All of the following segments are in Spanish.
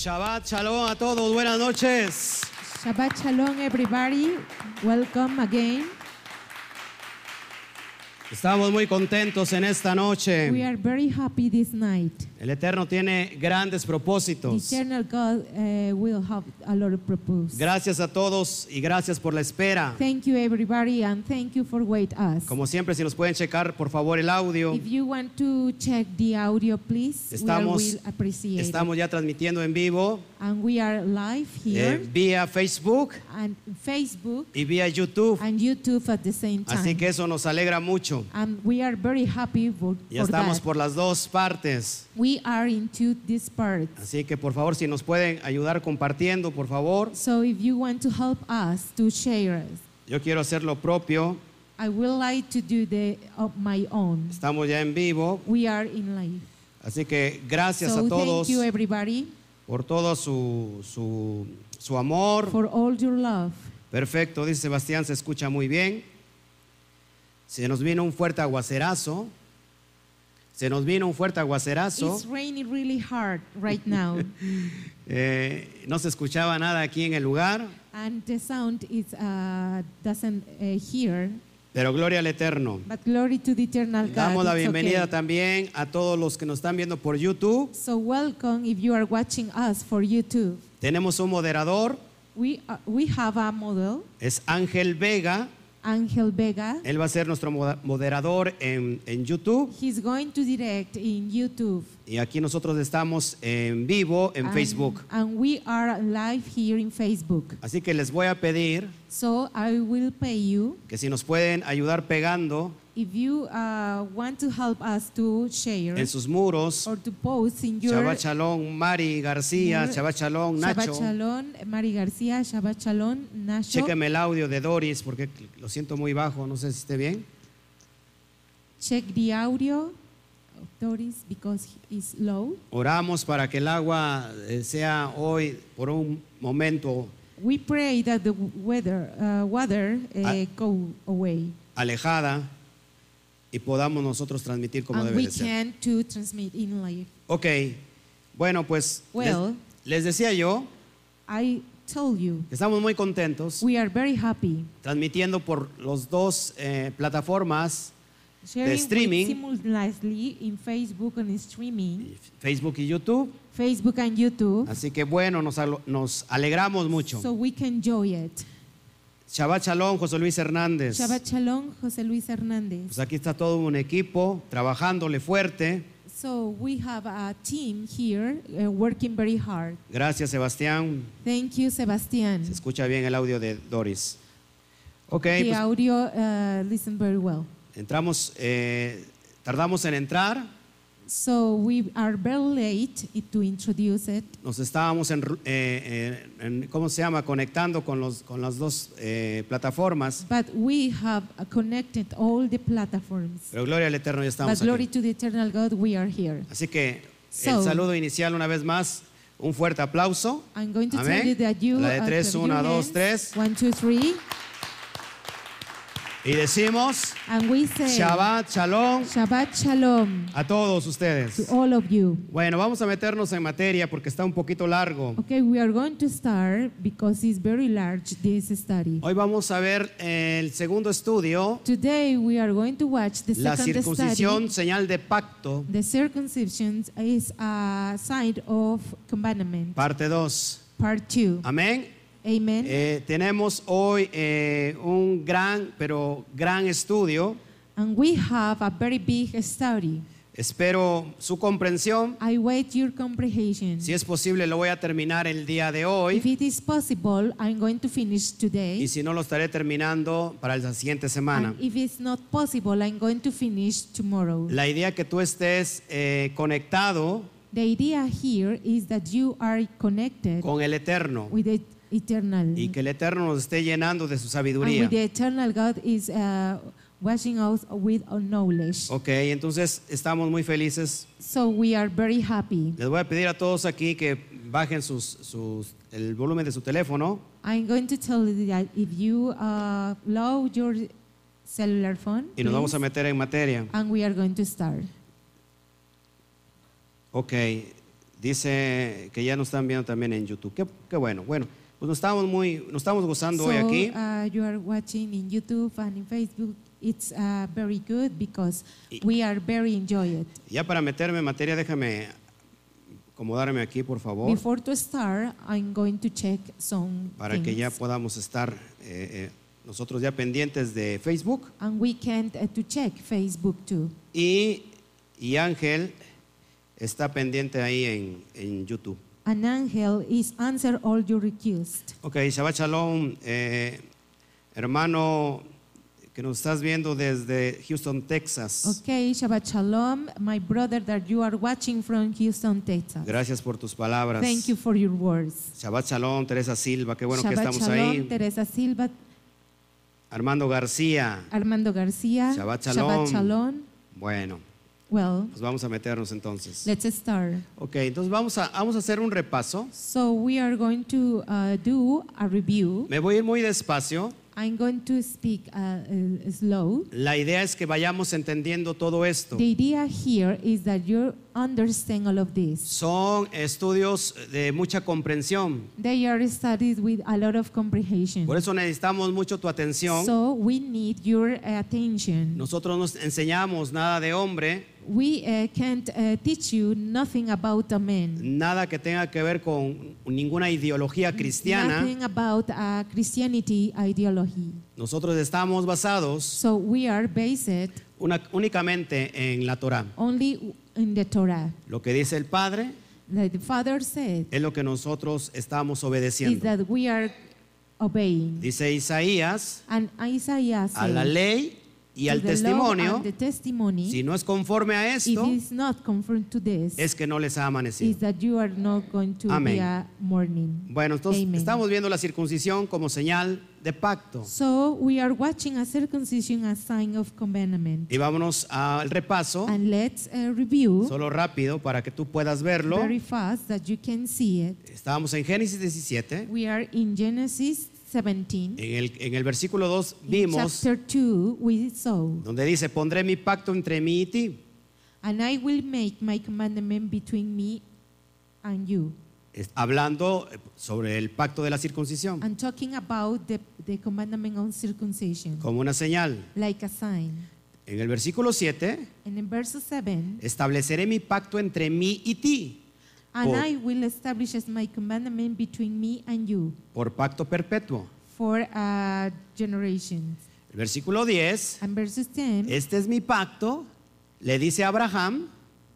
Shabbat Shalom a todos, buenas noches. Shabbat Shalom, everybody. Welcome again. Estamos muy contentos en esta We noche. are very happy this night. El Eterno tiene grandes The propósitos. eternal God will have a lot of purpose. Gracias a todos y gracias por la espera. Thank you, everybody, and thank you for waiting us. Como siempre, si nos pueden checar por favor el audio. If you want to check the audio, please, Estamos, we will appreciate it. estamos ya transmitiendo en vivo And we are live here vía Facebook and Facebook y vía YouTube. and YouTube at the same time. Así que eso nos alegra mucho. And we are very happy for Ya estamos that. por las dos partes. We are into this part. Así que por favor, si nos pueden ayudar compartiendo, por favor. So if you want to help us to share, Yo quiero hacer lo propio. I would like to do my own. Estamos ya en vivo. We are in live. Así que gracias So a todos thank you, everybody, por todo su amor. for all your love. Perfecto, dice Sebastián, se escucha muy bien. Se nos vino un fuerte aguacerazo. Se nos vino un fuerte aguacerazo. It's raining really hard right now, No se escuchaba nada aquí en el lugar, and the sound is doesn't hear. pero gloria al Eterno. But glory to the eternal God. Damos la it's bienvenida okay. también a todos los que nos están viendo por YouTube. So welcome if you are watching us for YouTube. Tenemos un moderador, We have a model, es Ángel Vega. Angel Vega. Él va a ser nuestro moderador en YouTube. He's going to direct in YouTube. Y aquí nosotros estamos en vivo en Facebook. And we are live here in Facebook. Así que les voy a pedir So I will pay you. que si nos pueden ayudar pegando If you want to help us to share en sus muros. or to post in your Shabbat Shalom, Mari García, Shabbat Shalom, Shabbat Nacho. Shalom, Mari García, Shabbat Shalom, Nacho. Chéqueme el audio de Doris porque lo siento muy bajo, no sé si esté bien. Check the audio of Doris because it's low. Oramos para que el agua sea hoy por un momento We pray that the water go away alejada y podamos nosotros transmitir como and debe we de ser. can to transmit in live. Ok, bueno pues Well, les decía yo I told you que estamos muy contentos we are very happy transmitiendo por los dos plataformas sharing streaming. simultaneously in Facebook and streaming, Facebook y YouTube. Facebook and YouTube, Así que bueno, nos alegramos mucho. so we can enjoy it. Shabbat Shalom, José Luis Hernández. Shabbat Shalom, José Luis Hernández. Pues aquí está todo un equipo trabajándole fuerte. So we have a team here working very hard. Gracias, Sebastián. Thank you, Sebastián. Se escucha bien el audio de Doris. Ok, The pues audio listen very well. entramos, tardamos en entrar. So we are very late to introduce it. Nos estábamos ¿cómo se llama? Conectando con las dos plataformas. But we have connected all the platforms. Pero gloria al Eterno, ya But estamos glory aquí. to the eternal God, we are here. Así que So- el saludo inicial una vez más, un fuerte aplauso. I'm going to Amén. tell you that you La de tres, clap your 1, 2, hands. 3. 1, 2, 3. Y decimos And we say Shabbat Shalom Shabbat Shalom a todos to ustedes. all of you. Bueno, vamos a meternos en materia porque está un poquito largo. Okay, we are going to start because it's very large, this study. Hoy vamos a ver el segundo estudio, Today we are going to watch the la second circuncisión, study. señal de pacto, The circumcision is a sign of commandment, parte 2. part 2. Amén. Amen. Tenemos hoy un gran estudio. And we have a very big study. Espero su comprensión. I wait your comprehension. Si es posible, lo voy a terminar el día de If hoy. it is possible, I'm going to finish today. Y si no, lo estaré terminando para la siguiente semana. And if it's not possible, I'm going to finish tomorrow. La idea que tú estés conectado The idea here is that you are connected con el Eterno with the eternal. y que el Eterno nos esté llenando de su And sabiduría. with the eternal God is washing us with knowledge. Ok, entonces estamos muy felices. So we are very happy. Les voy a pedir a todos aquí que bajen el volumen de su teléfono. I'm going to tell you that if you load your cellular phone, Y nos vamos a please, meter en materia. and we are going to start. Ok, Dice que ya nos están viendo también en YouTube. Qué bueno. Bueno, pues nos estamos gozando hoy aquí. You are watching in YouTube and in Facebook. It's very good because we are very enjoyed. Ya para meterme en materia, déjame acomodarme aquí, por favor, Before to start, I'm going to check some para que things. ya podamos estar nosotros ya pendientes de Facebook. And we can to check Facebook too. Y Ángel está pendiente ahí en YouTube. An angel is answer all your requests. Ok, Shabbat Shalom, hermano que nos estás viendo desde Houston, Texas. Okay, Shabbat Shalom, my brother that you are watching from Houston, Texas. Gracias por tus palabras. Thank you for your words. Shabbat Shalom, Teresa Silva, qué bueno que Shabbat estamos Shalom, ahí. Teresa Silva, Armando García. Armando García. Shabbat Shalom. Shabbat Shalom. Bueno, Well, pues vamos a meternos entonces. let's start. Ok, entonces vamos a hacer un repaso. So we are going to do a review. Me voy a ir muy despacio. I'm going to speak slow. La idea es que vayamos entendiendo todo esto. The idea here is that you understand all of this. Son estudios de mucha comprensión. They are studied with a lot of comprehension. Por eso necesitamos mucho tu atención. So we need your attention. Nosotros no enseñamos nada de hombre, We can't teach you nothing about a man. nada que tenga que ver con ninguna ideología cristiana. Nothing about a Christianity ideology. Nosotros estamos basados So we are based únicamente en la Torah. only in the Torah. Lo que dice el Padre Like the Father said, es lo que nosotros estamos is obedeciendo. that we are obeying. Dice Isaías, And Isaiah a la said, ley y to al the law testimonio, and the testimony, si no es conforme a if esto, it's not conformed to this, es que no les ha is amanecido. that you are not going to Amén. be a morning. Bueno, entonces Amen. estamos viendo la circuncisión como señal de pacto. So we are watching a circumcision as sign of commandment. Y vámonos al repaso, And let's review solo rápido para que tú puedas verlo. very fast that you can see it. Estábamos en Génesis 17. We are in Genesis 17. En el versículo 2 In vimos chapter 2, we saw, donde dice, pondré mi pacto entre mí y ti. and I will make my commandment between me and you. Hablando sobre el pacto de la circuncisión I'm talking about the commandment on circumcision, como una señal. like a sign. En el versículo 7, And in verse 7, estableceré mi pacto entre mí y ti and Por- I will establish as my commandment between me and you por pacto perpetuo. for generations. El versículo 10, And verses 10, este es mi pacto, le dice a Abraham,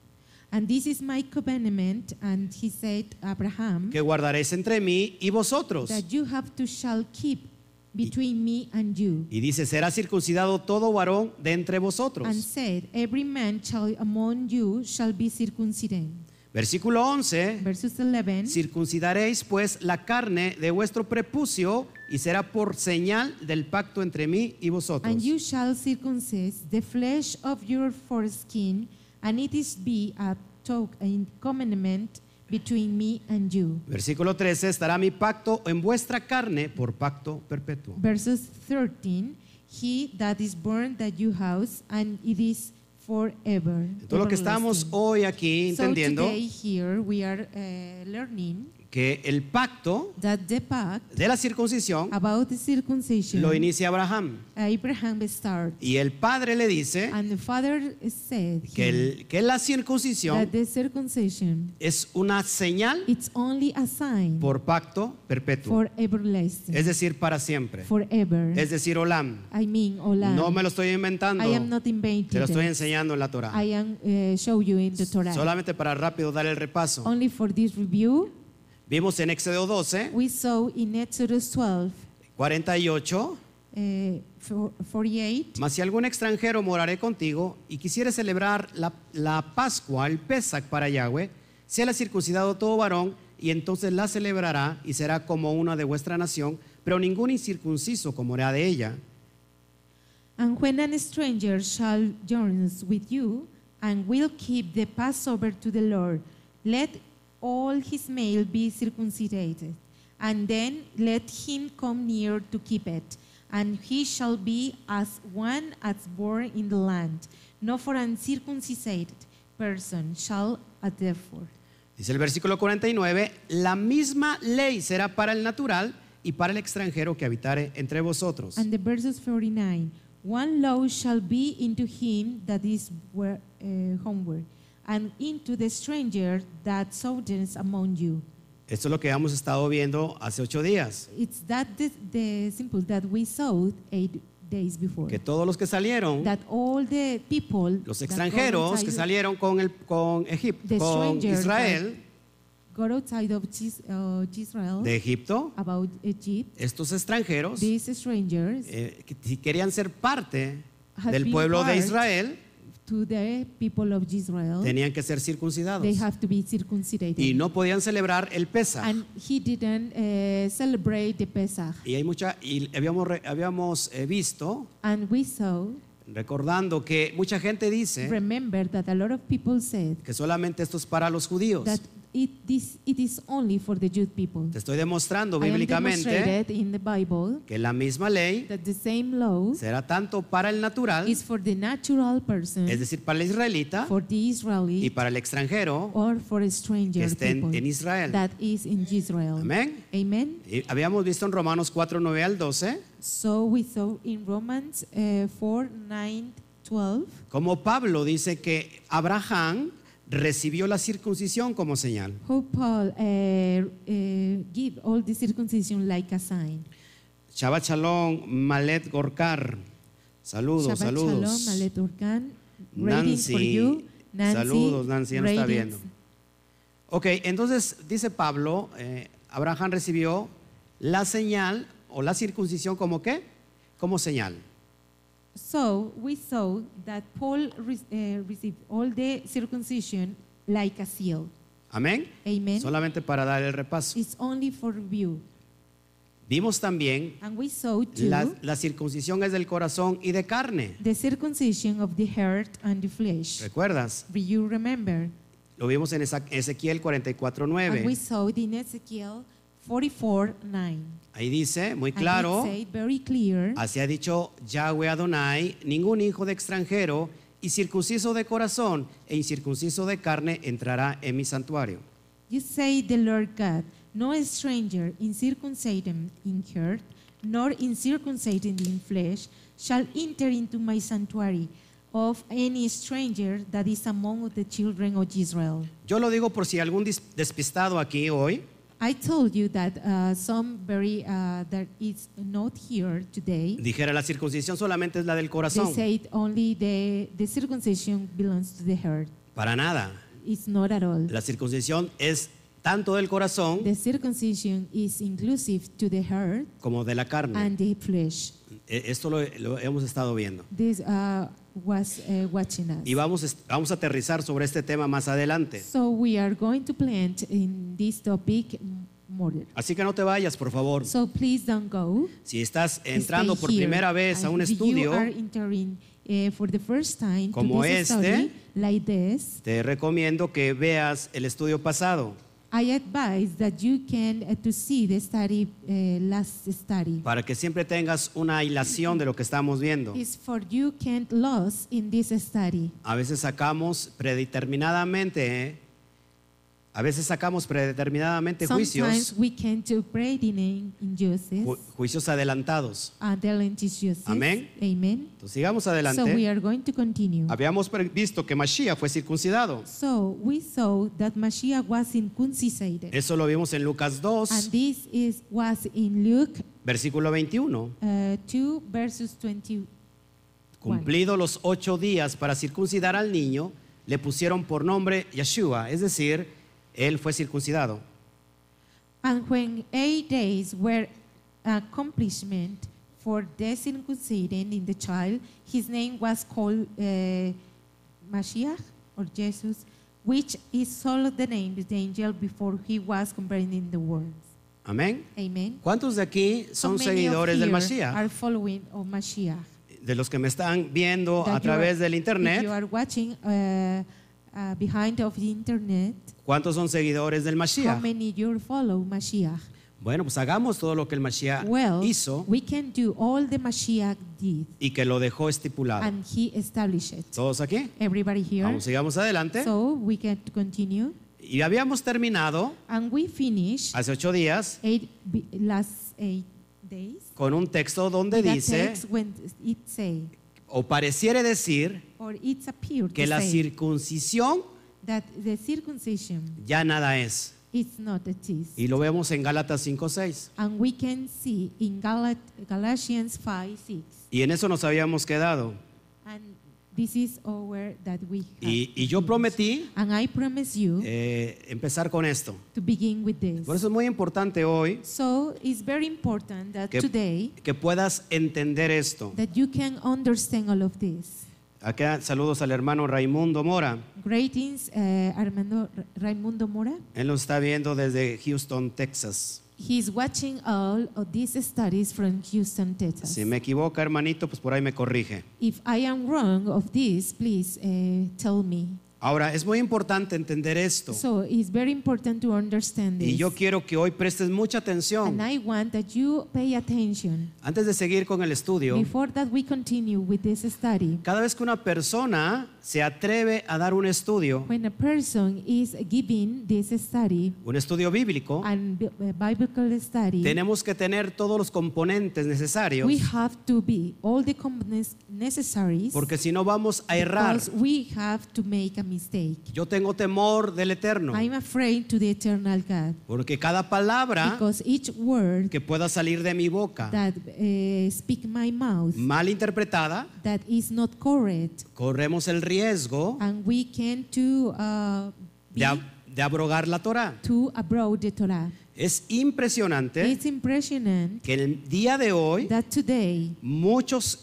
and this is my commandment, and he said, Abraham, que guardaréis entre mí y vosotros. that you have to shall keep between me and you. Y dice, será circuncidado todo varón de entre vosotros. And said, every man shall among you shall be circumcised. Versículo 11, Verses 11, circuncidaréis pues la carne de vuestro prepucio y será por señal del pacto entre mí y vosotros. and you shall circumcise the flesh of your foreskin, and it is be a token commandment between me and you. Versículo 13, estará mi pacto en vuestra carne por pacto perpetuo. Verses 13, he that is born that you house, and it is forever. Todo lo que estamos everlasting. hoy aquí So entendiendo today here we are learning que el pacto that the pact de la circuncisión about the circumcision lo inicia Abraham. Abraham started, Y el padre le dice and the father said que la that circuncisión the circumcision es una señal it's only a sign por pacto perpetuo. for everlasting, Es decir, para siempre. forever. Es decir, olam. I mean, Olam. No me lo estoy inventando. I am not inventing Te lo estoy it. enseñando en la Torah. I am show you in the Torah. Solamente para rápido dar el repaso. Only for this review, Vimos en Éxodo 12, we saw in Exodus 12, 48. 48. Mas si algún extranjero moraré contigo y quisiere celebrar la Pascua, el Pesach para Yahweh, sea circuncidado todo varón y entonces la celebrará y será como una de vuestra nación, pero ningún incircunciso comerá de ella. And when an stranger shall join with you, and will keep the Passover to the Lord, let all his male be circumcised, and then let him come near to keep it. And he shall be as one as born in the land, no for uncircumcised person shall therefore. Dice el versículo 49, la misma ley será para el natural y para el extranjero que habitare entre vosotros. And the verses 49, one law shall be into him that is homeward, and into the stranger that sojourns among you. Esto es lo que hemos estado viendo hace 8 días. It's that the simple that we saw 8 days before. Que todos los que salieron, That all the people, los that extranjeros got que outside- salieron con Egipto, The con strangers Israel, got outside of Israel, de Egipto, about Egypt, estos extranjeros, these strangers que si querían ser parte had del been pueblo de part Israel, to the people of Israel. tenían que ser circuncidados. They have to be circumcised. Y no podían celebrar el Pesaj. And he didn't celebrate the Pesach. Y habíamos visto, And we saw, recordando que mucha gente dice remember that a lot of people said que solamente esto es para los judíos. that it is only for the Jewish people. Te estoy demostrando I am bíblicamente demonstrated in the Bible que la misma ley that the same law será tanto para el natural, is for the natural person, es decir, para el israelita, for the y Israeli, para el extranjero or for a que stranger esté people en Israel. that is in Israel. Amén. Amen. Y habíamos visto en Romanos 4, 9 al 12, So we saw in Romans 4, 9, 12, como Pablo dice que Abraham recibió la circuncisión como señal. how Paul give all the circumcision like a sign. Shabbat Shalom, Malet Gorkar. Saludos, Shabbat saludos. Shalom, Malet Urkan, ratings for Nancy, you. Nancy, saludos, Nancy, ya nos está ratings. viendo. Ok, entonces dice Pablo, Abraham recibió la señal o la circuncisión como qué? Como señal. So we saw that Paul received all the circumcision like a seal. Amén. Amen. Solamente para dar el repaso. It's only for view. Vimos también And we saw too la circuncisión es del corazón y de carne. the circumcision of the heart and the flesh. ¿Recuerdas? Do you remember? Lo vimos en Ezequiel And we 44:9. saw it in Ezekiel 44:9. Ahí dice muy And claro, it said very clear, así ha dicho Yahweh Adonai, ningún hijo de extranjero y circunciso de corazón e incircunciso de carne entrará en mi santuario. you say the Lord God, no stranger incircumcised in heart, nor incircumcised in flesh, shall enter into my sanctuary of any stranger that is among the children of Israel. Yo lo digo por si algún despistado aquí hoy I told you that some very that is not here today. dijera la circuncisión solamente es la del They corazón. said only the circumcision belongs to the heart. Para nada. It's not at all. La circuncisión es tanto del corazón The circumcision is inclusive to the heart como de la carne. and the flesh. Esto lo hemos estado viendo. This was watching us. Y vamos a aterrizar sobre este tema más adelante. So we are going to plant in this topic more. Así que no te vayas, por favor. So please don't go. Si estás entrando Stay por here. primera vez a un And if estudio, you are entering for the first time como to this este, study like this, te recomiendo que veas el estudio pasado I advise that you can to see the study last study. para que siempre tengas una hilación de lo que estamos viendo. Is for you can't lose in this study. A veces sacamos predeterminadamente Sometimes juicios, we can do in injustice juicios adelantados. and injustice. Amén. Amen. Entonces sigamos So we adelante. are going to continue. Habíamos visto que Mashiach fue circuncidado. So we saw that Mashiach was circumcised. Eso lo vimos en Lucas 2, And this was in Luke versículo 21. 2 verses 21. Cumplidos los 8 días para circuncidar al niño, le pusieron por nombre Yeshua, es decir, él fue circuncidado. And when 8 days were accomplishment for the circumcision in the child, his name was called Mashiach or Jesus, which is all the name of the angel before he was compared in the world. Amén. Amen. ¿Cuántos de aquí So son many of seguidores del here Mashiach? are following of Mashiach. De los que me están viendo That a you través are- del If you internet, are watching behind of the internet, ¿cuántos son seguidores del how Mashiach? many you follow Mashiach? Bueno, pues hagamos todo lo que el Mashiach Well, hizo we can do all the Mashiach did, y que lo dejó estipulado. and he established it. ¿Todos aquí? Everybody here. Vamos, sigamos adelante. So we can continue. Y habíamos terminado And we finished hace 8 días last 8 days con un texto donde with a dice, text when it say, o pareciera decir, or it's appeared que to la say circuncisión that the circumcision ya nada es. is not a test. Y lo vemos en Gálatas 5:6. And we can see in Galatians 5:6. Y en eso nos habíamos quedado. And this is our that we have. Y yo prometí And I promise you empezar con esto. to begin with this. Por eso es muy importante hoy So it's very important that que, today que puedas entender esto. that you can understand all of this. Acá saludos al hermano Raimundo Mora. Greetings, Raimundo Mora. Él nos está viendo desde Houston, Texas. He's watching all of these studies from Houston, Texas. Si me equivoco, hermanito, pues por ahí me corrige. If I am wrong of this, please tell me. Ahora, es muy importante entender esto. So it's very important to understand this. Y yo quiero que hoy prestes mucha atención. And I want that you pay attention. Antes de seguir con el estudio, Before that we continue with this study. cada vez que una persona se atreve a dar un estudio When a person is giving this study bíblico, and biblical study, tenemos que tener todos los componentes necesarios, we have to be all the components necessary porque si no vamos a errar. because we have to make a mistake. Yo tengo temor del Eterno, I'm afraid to the eternal God porque cada palabra because each word que pueda salir de mi boca that speak my mouth mal interpretada, that is not correct, corremos el riesgo and we can to de abrogar la Torah. to abroad the Torah. Es impresionante It's impressionant que el día de hoy that today muchas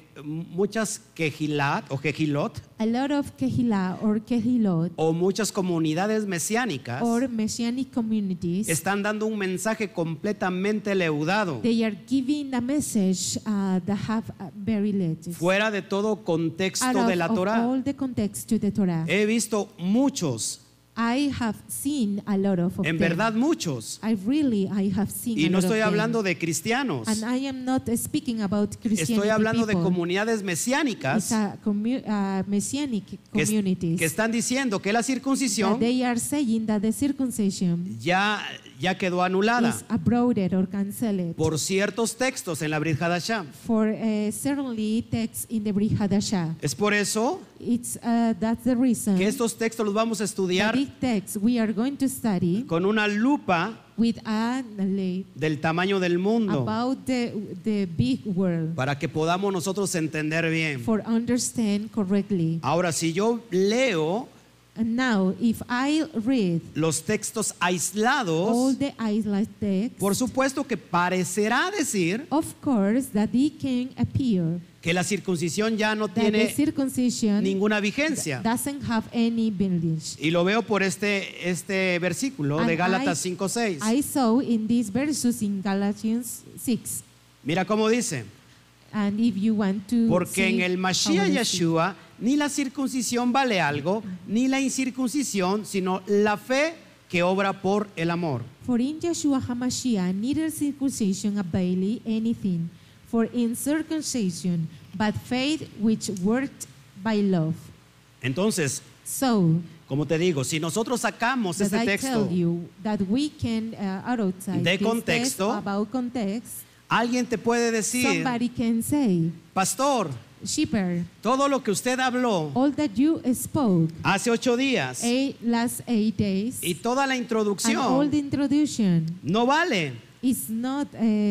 kehilat o kehilot a lot of Kehillah or Kehilot o muchas comunidades mesiánicas or Messianic communities, están dando un mensaje completamente leudado, they are giving a message that have very letters fuera de todo out contexto de la of Torah. all the context to the Torah. He visto muchos, I have seen a lot of en them. verdad muchos, I have seen y a no lot estoy of them. hablando de cristianos, And I am not speaking about Christianity estoy hablando de people. comunidades It's mesiánicas a Messianic que communities están diciendo que la that circuncisión they are saying that the circumcision ya quedó anulada is abroged or cancelled por ciertos textos en la Brit Hadashah. for certainly texts in the Brit Hadashah. Es por eso It's that's the reason que estos textos los vamos a that estudiar these texts we are going to study con una lupa with a knowledge del tamaño del mundo about the big world para que podamos nosotros entender bien. for understand correctly. Ahora, si yo leo And now, if I read los textos all aislados, the isolated texts, por supuesto que parecerá decir of course, that they can appear que la circuncisión ya no that the tiene circumcision ninguna vigencia. doesn't have any bondage. Y lo veo por este versículo de And Gálatas 5:6. I saw in these verses in Galatians 6. Mira cómo dice, And if you want to porque en see el how Mashiach it is. Yeshua ni la circuncisión vale algo, ni la incircuncisión, sino la fe que obra por el amor. For in Yeshua HaMashiach neither circumcision availeth anything, for in circumcision but faith which worked by love. Entonces, So como te digo, si nosotros sacamos that este I texto, tell you that we can outside de this contexto, text about context, alguien te puede decir, somebody can say, pastor, Shepherd, todo lo que usted habló all that you spoke hace 8 días last 8 days y toda la and all introducción the introduction no vale, is not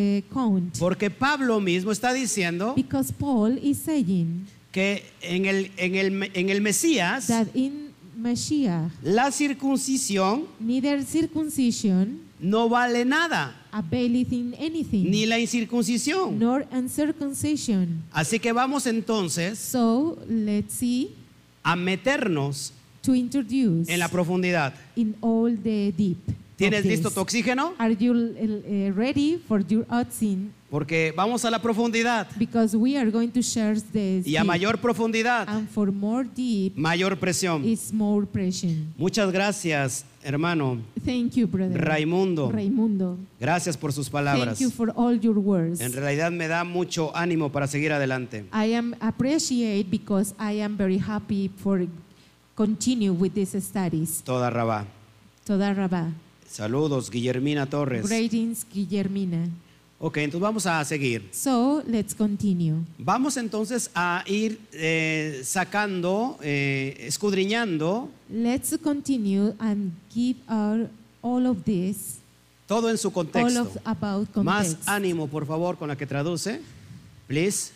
count porque Pablo mismo está diciendo because Paul is saying que en el Mesías that in Mashiach la circuncisión neither circumcision no vale nada, availeth in anything, ni la incircuncisión. nor uncircumcision. Así que vamos entonces So let's see a meternos to introduce en la profundidad. in all the deep. ¿Tienes of this. listo tu oxígeno? Are you ready for your oxygen? Porque vamos a la profundidad. Because we are going to share this. Y a deep. mayor profundidad, And for more deep mayor presión. is more pressure. Muchas gracias, hermano Thank you, brother. Raimundo. Raimundo. Gracias por sus palabras. Thank you for all your words. En realidad me da mucho ánimo para seguir adelante. I am appreciate because I am very happy for continue with these studies. Toda Rabá. Toda Rabá. Saludos, Guillermina Torres. Greetings, Guillermina. Ok, entonces vamos a seguir. So let's continue. Vamos entonces a ir sacando, escudriñando Let's continue and give all of this, todo en su all contexto. of about Más context. ánimo, por favor, con la que traduce. Please.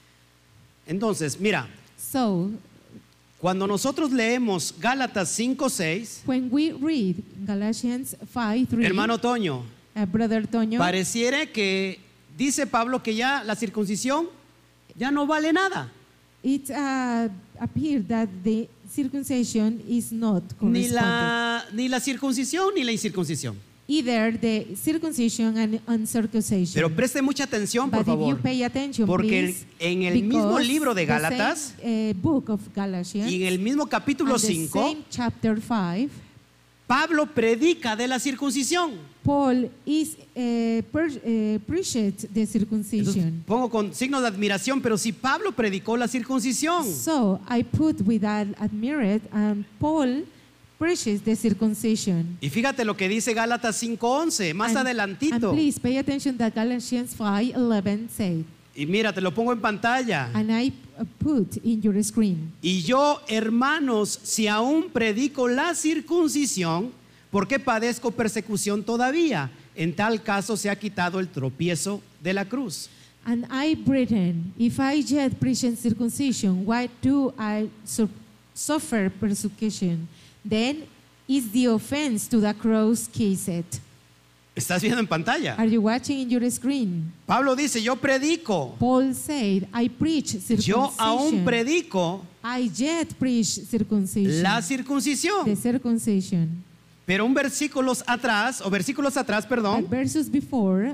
Entonces, mira, So cuando nosotros leemos Gálatas 5:6, when we read Galatians 5:3, hermano Toño, Brother Toño, pareciera que dice Pablo que ya la circuncisión ya no vale nada. it appears that the circumcision is not Ni corresponded. ni la circuncisión ni la incircuncisión. Either the circumcision and uncircumcision. Pero preste mucha atención, por But if you favor. pay attention, Porque please, en el mismo because libro de the same, Gálatas book of Galatians, y en el mismo capítulo and the 5, same chapter 5, Pablo predica de la circuncisión. Paul is preached the Entonces, circumcision. pongo con signos de admiración, pero si Pablo predicó la circuncisión, So I put with that admired, and Paul preaches the circumcision. y fíjate lo que dice Gálatas 5:11, más And adelantito. please pay attention that Galatians 5:11 said, Y mira, te lo pongo en pantalla. and I put in your screen. Y yo, hermanos, si aún predico la circuncisión, ¿por qué padezco persecución todavía? En tal caso se ha quitado el tropiezo de la cruz. And I, brethren, if I yet preach circumcision, why do I suffer persecution? Then is the offense to the cross ceased. ¿Estás viendo en pantalla? Are you watching in your screen? Pablo dice, yo predico. Paul said, I preach Yo aún circumcision. predico I yet preach circumcision. la The circuncisión. circumcision. Pero versículos atrás, perdón, But verses before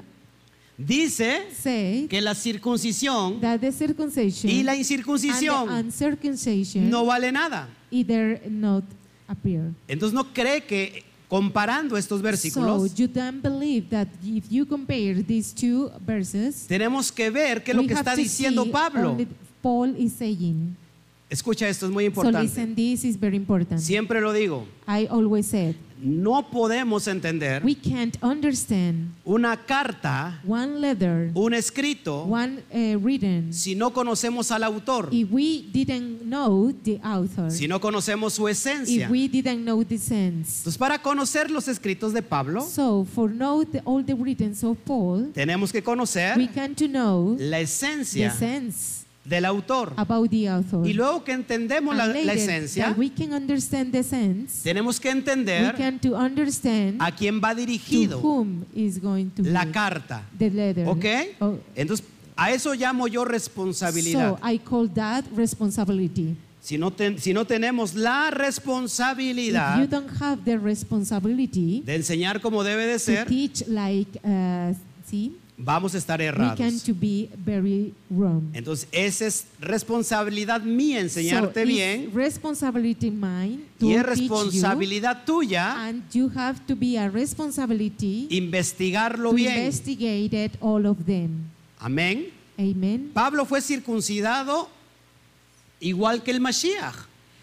dice say que la circuncisión that the circumcision y la and the incircuncisión uncircumcision no vale nada. either not appear. Entonces no cree que comparando estos So versículos you don't believe that if you compare these two verses, tenemos que ver qué es lo we que have está to diciendo see Pablo. only Paul is saying. Escucha esto, es muy So importante. listen, this is very important. Siempre lo digo, I always said, no podemos entender we can't understand una carta, one letter, un escrito, one written, si no conocemos al autor, if we didn't know the author, si no conocemos su esencia. if we didn't know the sense. Entonces, para conocer los escritos de Pablo, So for know all the writings of Paul, tenemos que we conocer can to know la the esencia sense del autor. about the author. Y luego que entendemos la And later, esencia, that we can understand the sense, tenemos que we entender can to understand a quién va to dirigido whom is going to la be carta. the letter. ¿Ok? Oh, Entonces, a eso llamo yo responsabilidad. so I call that responsibility. Si no tenemos la If you responsabilidad don't have the responsibility de enseñar como debe de to ser, teach like, see, vamos a estar we can errados. to be very wrong. Entonces, esa es responsabilidad mía enseñarte so bien it's responsibility mine to y es teach you, responsabilidad tuya and you have to be a responsibility investigarlo to bien. investigate it, all of them. Amén. Amen. Pablo fue circuncidado igual que el Mashiach.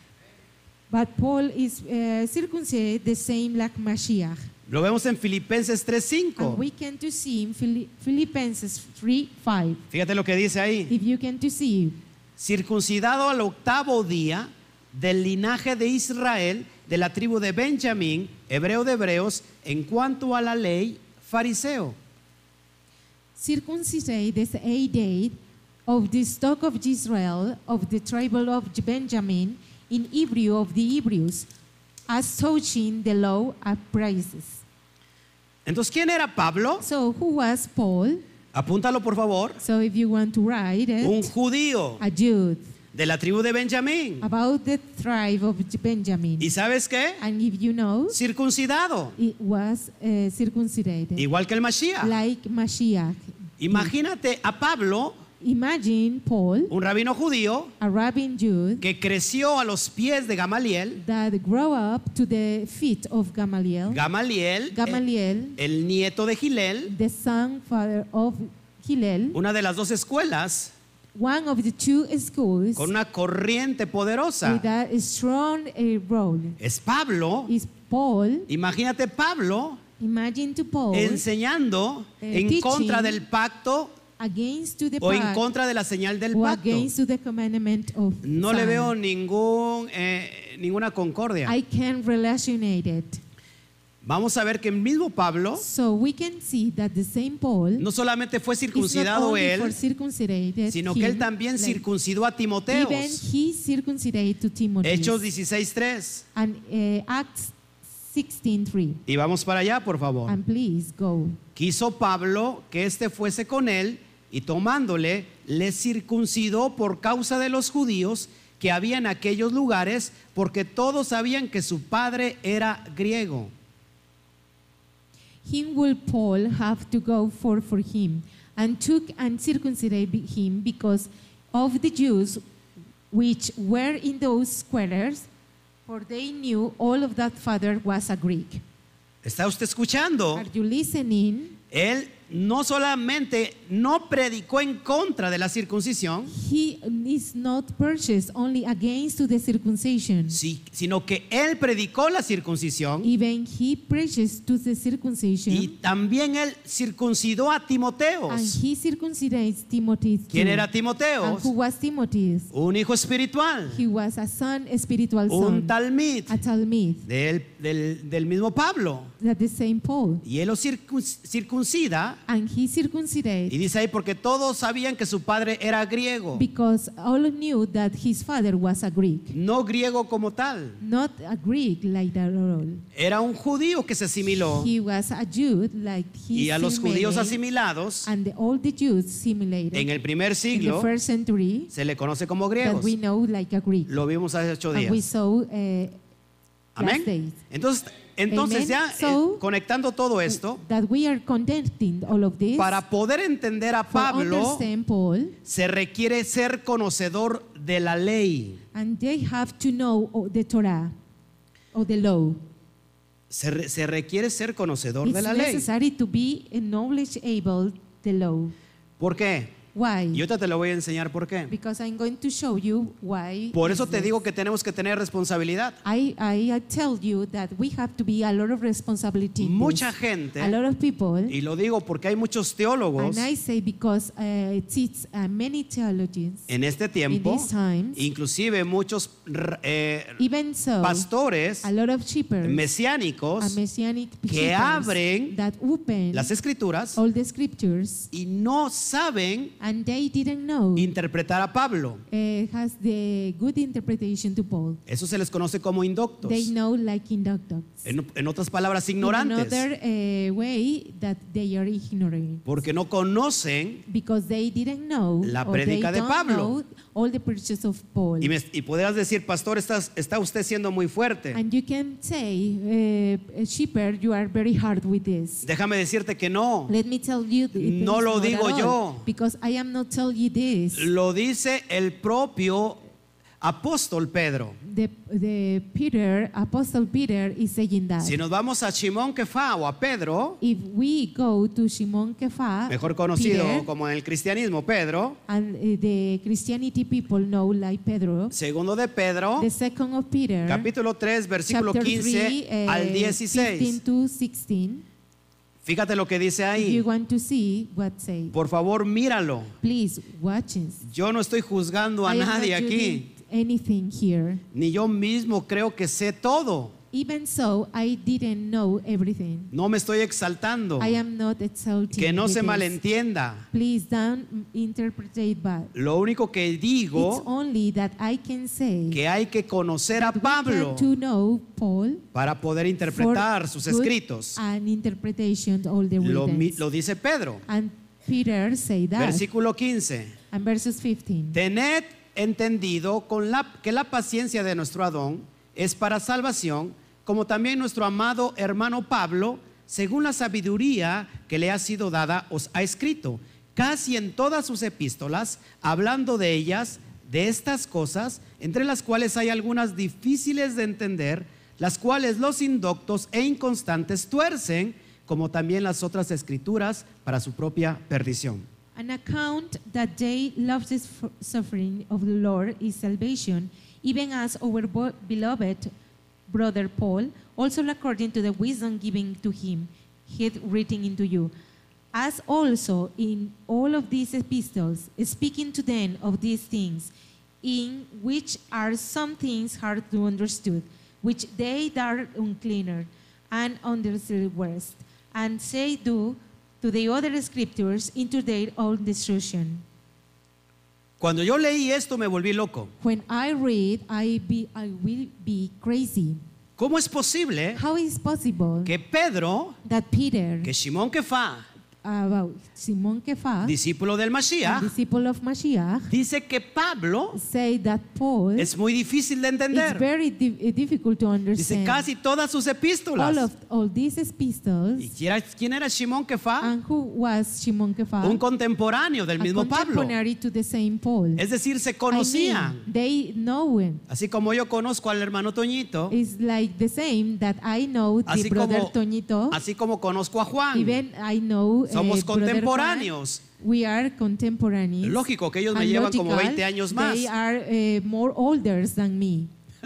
But Paul is circumcised the same like Mashiach. Lo vemos en Filipenses And 3:5. we can to see in Philippians 3:5. Fíjate lo que dice ahí. If you can to see, Circuncidado al 8º día del linaje de Israel, de la tribu de Benjamín, hebreo de hebreos, en cuanto a la ley, fariseo. circumcised the 8th day of the stock of Israel, of the tribe of Benjamin, in Hebrew of the Hebrews, as touching the law of praises. Entonces, ¿quién era Pablo? So who was Paul? Apúntalo por favor. So if you want to write Un it, judío a Jude, de la tribu de Benjamín. about the tribe of Benjamin. ¿Y sabes qué? And if you know, Circuncidado, it was circumcised, igual que el Mashiach. like Mashiach. Imagínate a Pablo, Imagine Paul, un rabino judío, a rabbin Jude, que creció a los pies de Gamaliel. that grew up to the feet of Gamaliel. Gamaliel, Gamaliel, el nieto de Gilel, the son father of Hillel, una de las dos escuelas one of the two schools con una corriente poderosa. with a strong role. Es Pablo. Is Paul. Imagínate Pablo Imagine to Paul enseñando en teaching contra del pacto against to the o en pact contra de la señal del or pacto. against to the commandment of No le sign. veo ninguna concordia. I can relationate it. Vamos a ver que el mismo Pablo So we can see that the same Paul no solamente fue is not circuncidado only for él, circumcised sino que él him, también like, circuncidó a Timoteo. even he circumcised to Timothy. Hechos 16:3. And Acts 16:3. Y vamos para allá, por favor. And please go. Quiso Pablo que éste fuese con él y tomándole, le circuncidó por causa de los judíos que había en aquellos lugares, porque todos sabían que su padre era griego. Him will Paul have to go for him, and took and circumcised him because of the Jews which were in those squares, for they knew all of that father was a Greek. ¿Está usted escuchando? Are you listening? Él no solamente no predicó en contra de la circuncisión, He is not purchased only against to the circumcision. sino que él predicó la circuncisión Even he preaches to the circumcision, y también él circuncidó a Timoteo. and he circumcised Timothy too. ¿Quién era Timoteo? And who was Timothy? Un hijo espiritual, He was a son, a spiritual un son, talmid a Talmud, del mismo Pablo. that the same Paul. Y él lo circuncida. And he circumcised Y dice ahí, porque todos sabían que su padre era griego, because all knew that his father was a Greek. no griego como tal, Not a Greek like that at all. era un judío que se asimiló. He was a Jew like he Y a los judíos assimilated, asimilados and all the Jews assimilated en el primer in the siglo first century se le conoce como that griegos. we know like a Greek. Lo vimos hace 8 And we días. saw last Amén. days Entonces Amen. ya So, conectando todo esto, that we are connecting all of this. para poder entender a For Pablo understand Paul, se requiere ser conocedor de la ley. and they have to know the Torah or the law. Se requiere ser conocedor It's de la ley. necessary to be knowledgeable the law. ¿Por qué? Why? Y ahorita te lo voy a enseñar por qué. Because I'm going to show you why. Por eso is te this. digo que tenemos que tener responsabilidad. I tell you that we have to be a lot of responsibility. in Mucha this. gente, A lot of people. y lo digo porque hay muchos teólogos And I say because it's many theologians en este in tiempo, these times, inclusive muchos even so, pastores a lot of shepherds, a mesiánicos messianic que shepherds abren that open las escrituras all the scriptures, y no saben and they didn't know interpretar a Pablo. has the good interpretation to Paul. Eso se les conoce como inductos. They know like inductors. En otras palabras, In ignorantes. another way that they are ignorant. Porque no conocen Because they didn't know La or they prédica de don't Pablo. know all the preachers of Paul. y podrás decir, pastor, está usted siendo muy fuerte. And you can say, shepherd, you are very hard with this. Déjame decirte que no. Let me tell you, No it's lo not digo at all, yo. because I am not telling you this. Lo dice el propio apóstol Pedro. The Peter, Apostle Peter, is saying that. Si nos vamos a Shimón Kefá o a Pedro, If we go to Shimon Kefa, mejor conocido Peter, como en el cristianismo Pedro, and the Christianity people know like Pedro, segundo de Pedro, the second of Peter, capítulo 3, versículo chapter 15 3, al 15 16. to 16. Fíjate lo que dice If you ahí. want to see what say, Por favor, míralo. please watch it. Yo no estoy juzgando a I am not nadie judging aquí, anything here. ni yo mismo creo que sé todo. Even so, I didn't know everything. No me estoy exaltando. I am not exalting. Que no with se this. malentienda. Please don't interpret it bad. Lo único que It's digo only that I can say que hay que conocer a that we Pablo get to know Paul para poder interpretar for sus good escritos. and interpretation of all the writings. Lo dice Pedro. And Peter say that. Versículo 15. And verses 15. Tened entendido que la paciencia de nuestro Adón es para salvación, como también nuestro amado hermano Pablo, según la sabiduría que le ha sido dada, os ha escrito, casi en todas sus epístolas, hablando de ellas, de estas cosas, entre las cuales hay algunas difíciles de entender, las cuales los indoctos e inconstantes tuercen, como también las otras escrituras, para su propia perdición. An account that they love the suffering of the Lord is salvation, even as our beloved brother Paul, also according to the wisdom given to him, hath written into you. As also in all of these epistles, speaking to them of these things, in which are some things hard to understand, which they that are uncleaner and understood worst, and say do to the other scriptures into their own destruction. Cuando yo leí esto me volví loco. When I read, I will be crazy. ¿Cómo es posible How is possible que Pedro, that Peter, que Shimon Kefá, about Simon Kefa, discípulo del a Mashiach, disciple of Mashiach, dice que Pablo say that Paul es muy difícil de is entender. very difficult to Dice understand. casi todas sus epístolas. All these epistles. ¿Y quién era Shimon Kefá? And who was Shimon Kefa? Un contemporáneo del A mismo Pablo. contemporary to the same Paul. Es decir, se I conocían. mean, they know him. Así como yo conozco al hermano Toñito, It's like the same that I know the brother Toñito. así como conozco a Juan. Even I know Somos brother contemporáneos. Juan. We are contemporaneous. Lógico que ellos me And llevan como logical, 20 años más. They are more older than me.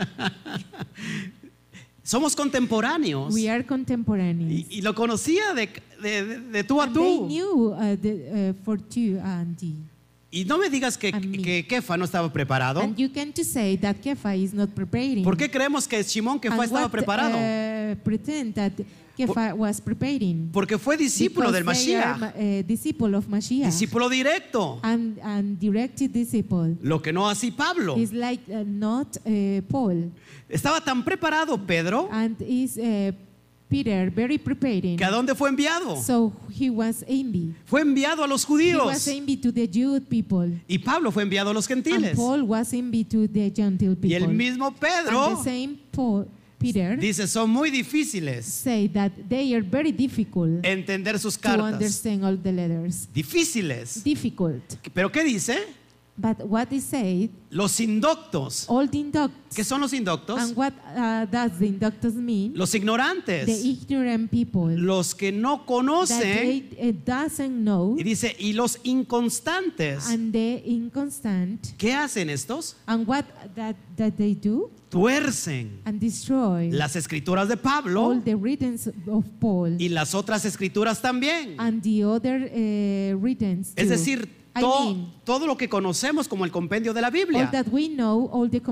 Somos contemporáneos. We are contemporaneous. Y lo conocía de tú a And they tú. knew for two and thee. Y no me digas que And me. Kefa no estaba preparado. And you can to say that Kefa is not preparing. ¿Por qué creemos que Shimon Kefa And estaba what, preparado? Pretend that Kefa was preparing. Porque fue discípulo del Because they are, Mashiach. disciple of Mashiach. Discípulo directo. And directed disciple. Lo que no así Pablo. Is like not Paul. Estaba tan preparado Pedro And is Peter very preparing. que ¿a dónde fue enviado? So he was envy. Fue enviado a los He was judíos. envy to the Jewish people. Y Pablo fue enviado a los And gentiles. Paul was envy to the Gentile people. Y el mismo And Pedro the same Peter dice, son muy difíciles say that they are very difficult entender sus to cartas. understand all the letters. Difíciles. Difficult. ¿Pero qué dice? But what is said, Los indoctos. all the inducts. ¿Qué son los indoctos? And what does the inductors mean? Los The ignorantes. ignorant people Los que no that conocen. they doesn't know, Y dice, y los inconstantes. and the inconstant, ¿Qué hacen estos? and what that they do, Tuercen and destroy las escrituras de all Pablo the writings of Paul y las otras escrituras también. and the other writings Es too. decir, I mean, todo lo que conocemos como el compendio de la all Biblia. that we know, all the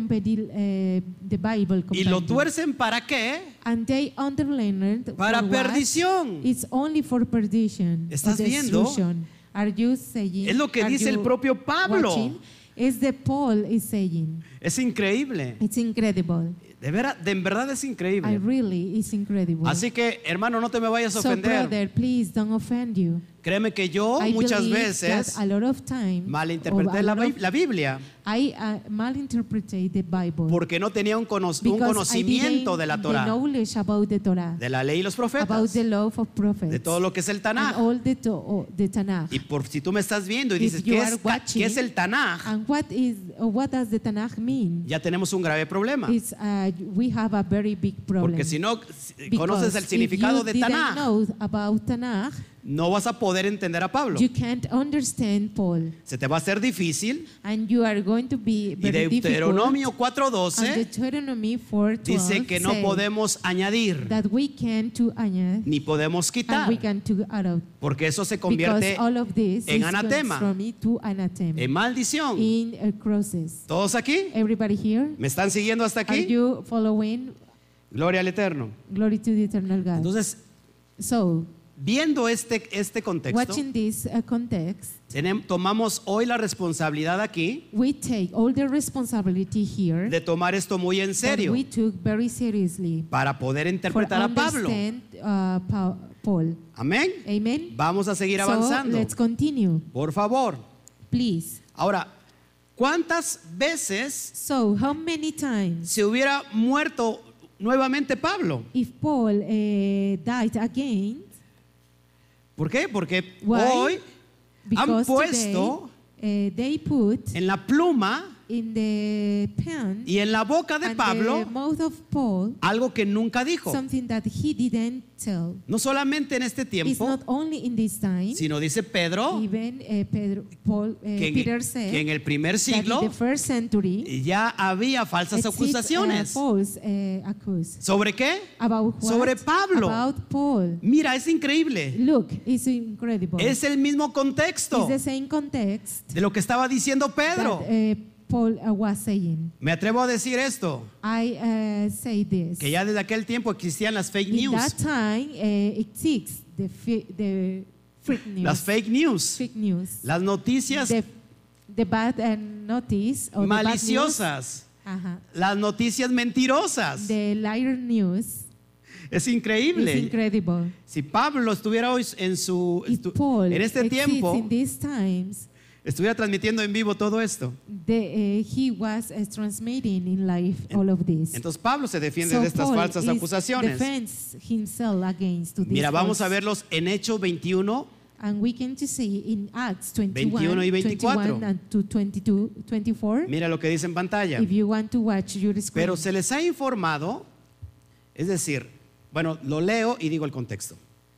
the Bible Y lo compendium. tuercen ¿para qué? And they underlined Para for what? perdición. It's only for perdition. ¿Estás or viendo? destruction. Are you saying? Es lo que are dice el you propio Pablo. watching? Is the Paul is saying. Es increíble. It's incredible. En verdad es I increíble. really, it's incredible. Así que, hermano, no te me vayas a So, ofender. brother, please don't offend you. Créeme que yo I muchas believe veces that a lot of time, malinterpreté or a la lot of- la Biblia I malinterpreted the Bible porque no tenía un because conocimiento I de la didn't Torah, the knowledge about the Torah, de la ley y los about profetas, the law of prophets, de todo lo que es el and Tanaj. all the Tanakh. Y por si tú me estás viendo y If dices, you ¿qué are qué es watching, el Tanaj? And what does the Tanakh mean? Ya tenemos un grave problema. It's, we have a very big problem. Porque si no Because conoces el if significado you de didn't Tanaj, know about Tanakh, no vas a poder entender a Pablo. you can't understand Paul, Se te va a hacer difícil. and you are going to be Y very Deuteronomio difficult. 4:12 And Deuteronomy 4:12 dice que no say podemos añadir that we can to añade ni podemos and quitar, we can to add out, porque eso se because convierte all of this en is anatema, from me to anathema en maldición. in crosses. ¿Todos aquí? Everybody here? ¿Me están siguiendo hasta Are aquí? you following? Gloria al Eterno. Glory to the eternal God. Entonces, So, viendo este contexto, watching this context, tomamos hoy la responsabilidad aquí we take all the responsibility here de tomar esto muy en that serio we took very seriously para poder for interpretar a Pablo. understand Paul. Amén. Amen. Vamos a seguir So avanzando. let's continue, Por favor. please. Ahora, ¿cuántas veces So how many times se hubiera muerto nuevamente Pablo? if Paul died again? ¿Por qué? Porque Why? hoy han Because puesto today they put en la pluma in the pen y en la boca de and the Pablo mouth of Paul algo que nunca dijo. something that he didn't tell. No solamente en este It's tiempo, not only in this time. sino dice Pedro Even que Peter en said el primer that in siglo the first century ya había falsas acusaciones. false accuse. ¿Sobre qué? About what? Sobre Pablo. About Paul. Mira, es increíble. Look, it's incredible. Es el mismo contexto It's the same context de lo que estaba diciendo Pedro. that Paul was saying. Me atrevo a decir esto, I say this. que ya desde aquel tiempo existían las fake In news. that time, it takes the fake news. Las fake news. Fake news. Las noticias The bad notice or maliciosas. the bad news, Las noticias mentirosas. the liar news Es is increíble. incredible. Si Pablo estuviera hoy If Paul en este exists tiempo, in these times, estuviera transmitiendo en vivo todo esto. he was transmitting in life all of this. Entonces Pablo se defiende So de estas Paul falsas is acusaciones. defends himself against to Mira, these vamos a false. verlos en Hechos 21, And we can see in Acts 21 y 24. 21 and to 22, 24. mira lo que dice en pantalla. If you want to watch your screen. Pero se les ha informado, es decir, bueno, lo leo y digo el contexto.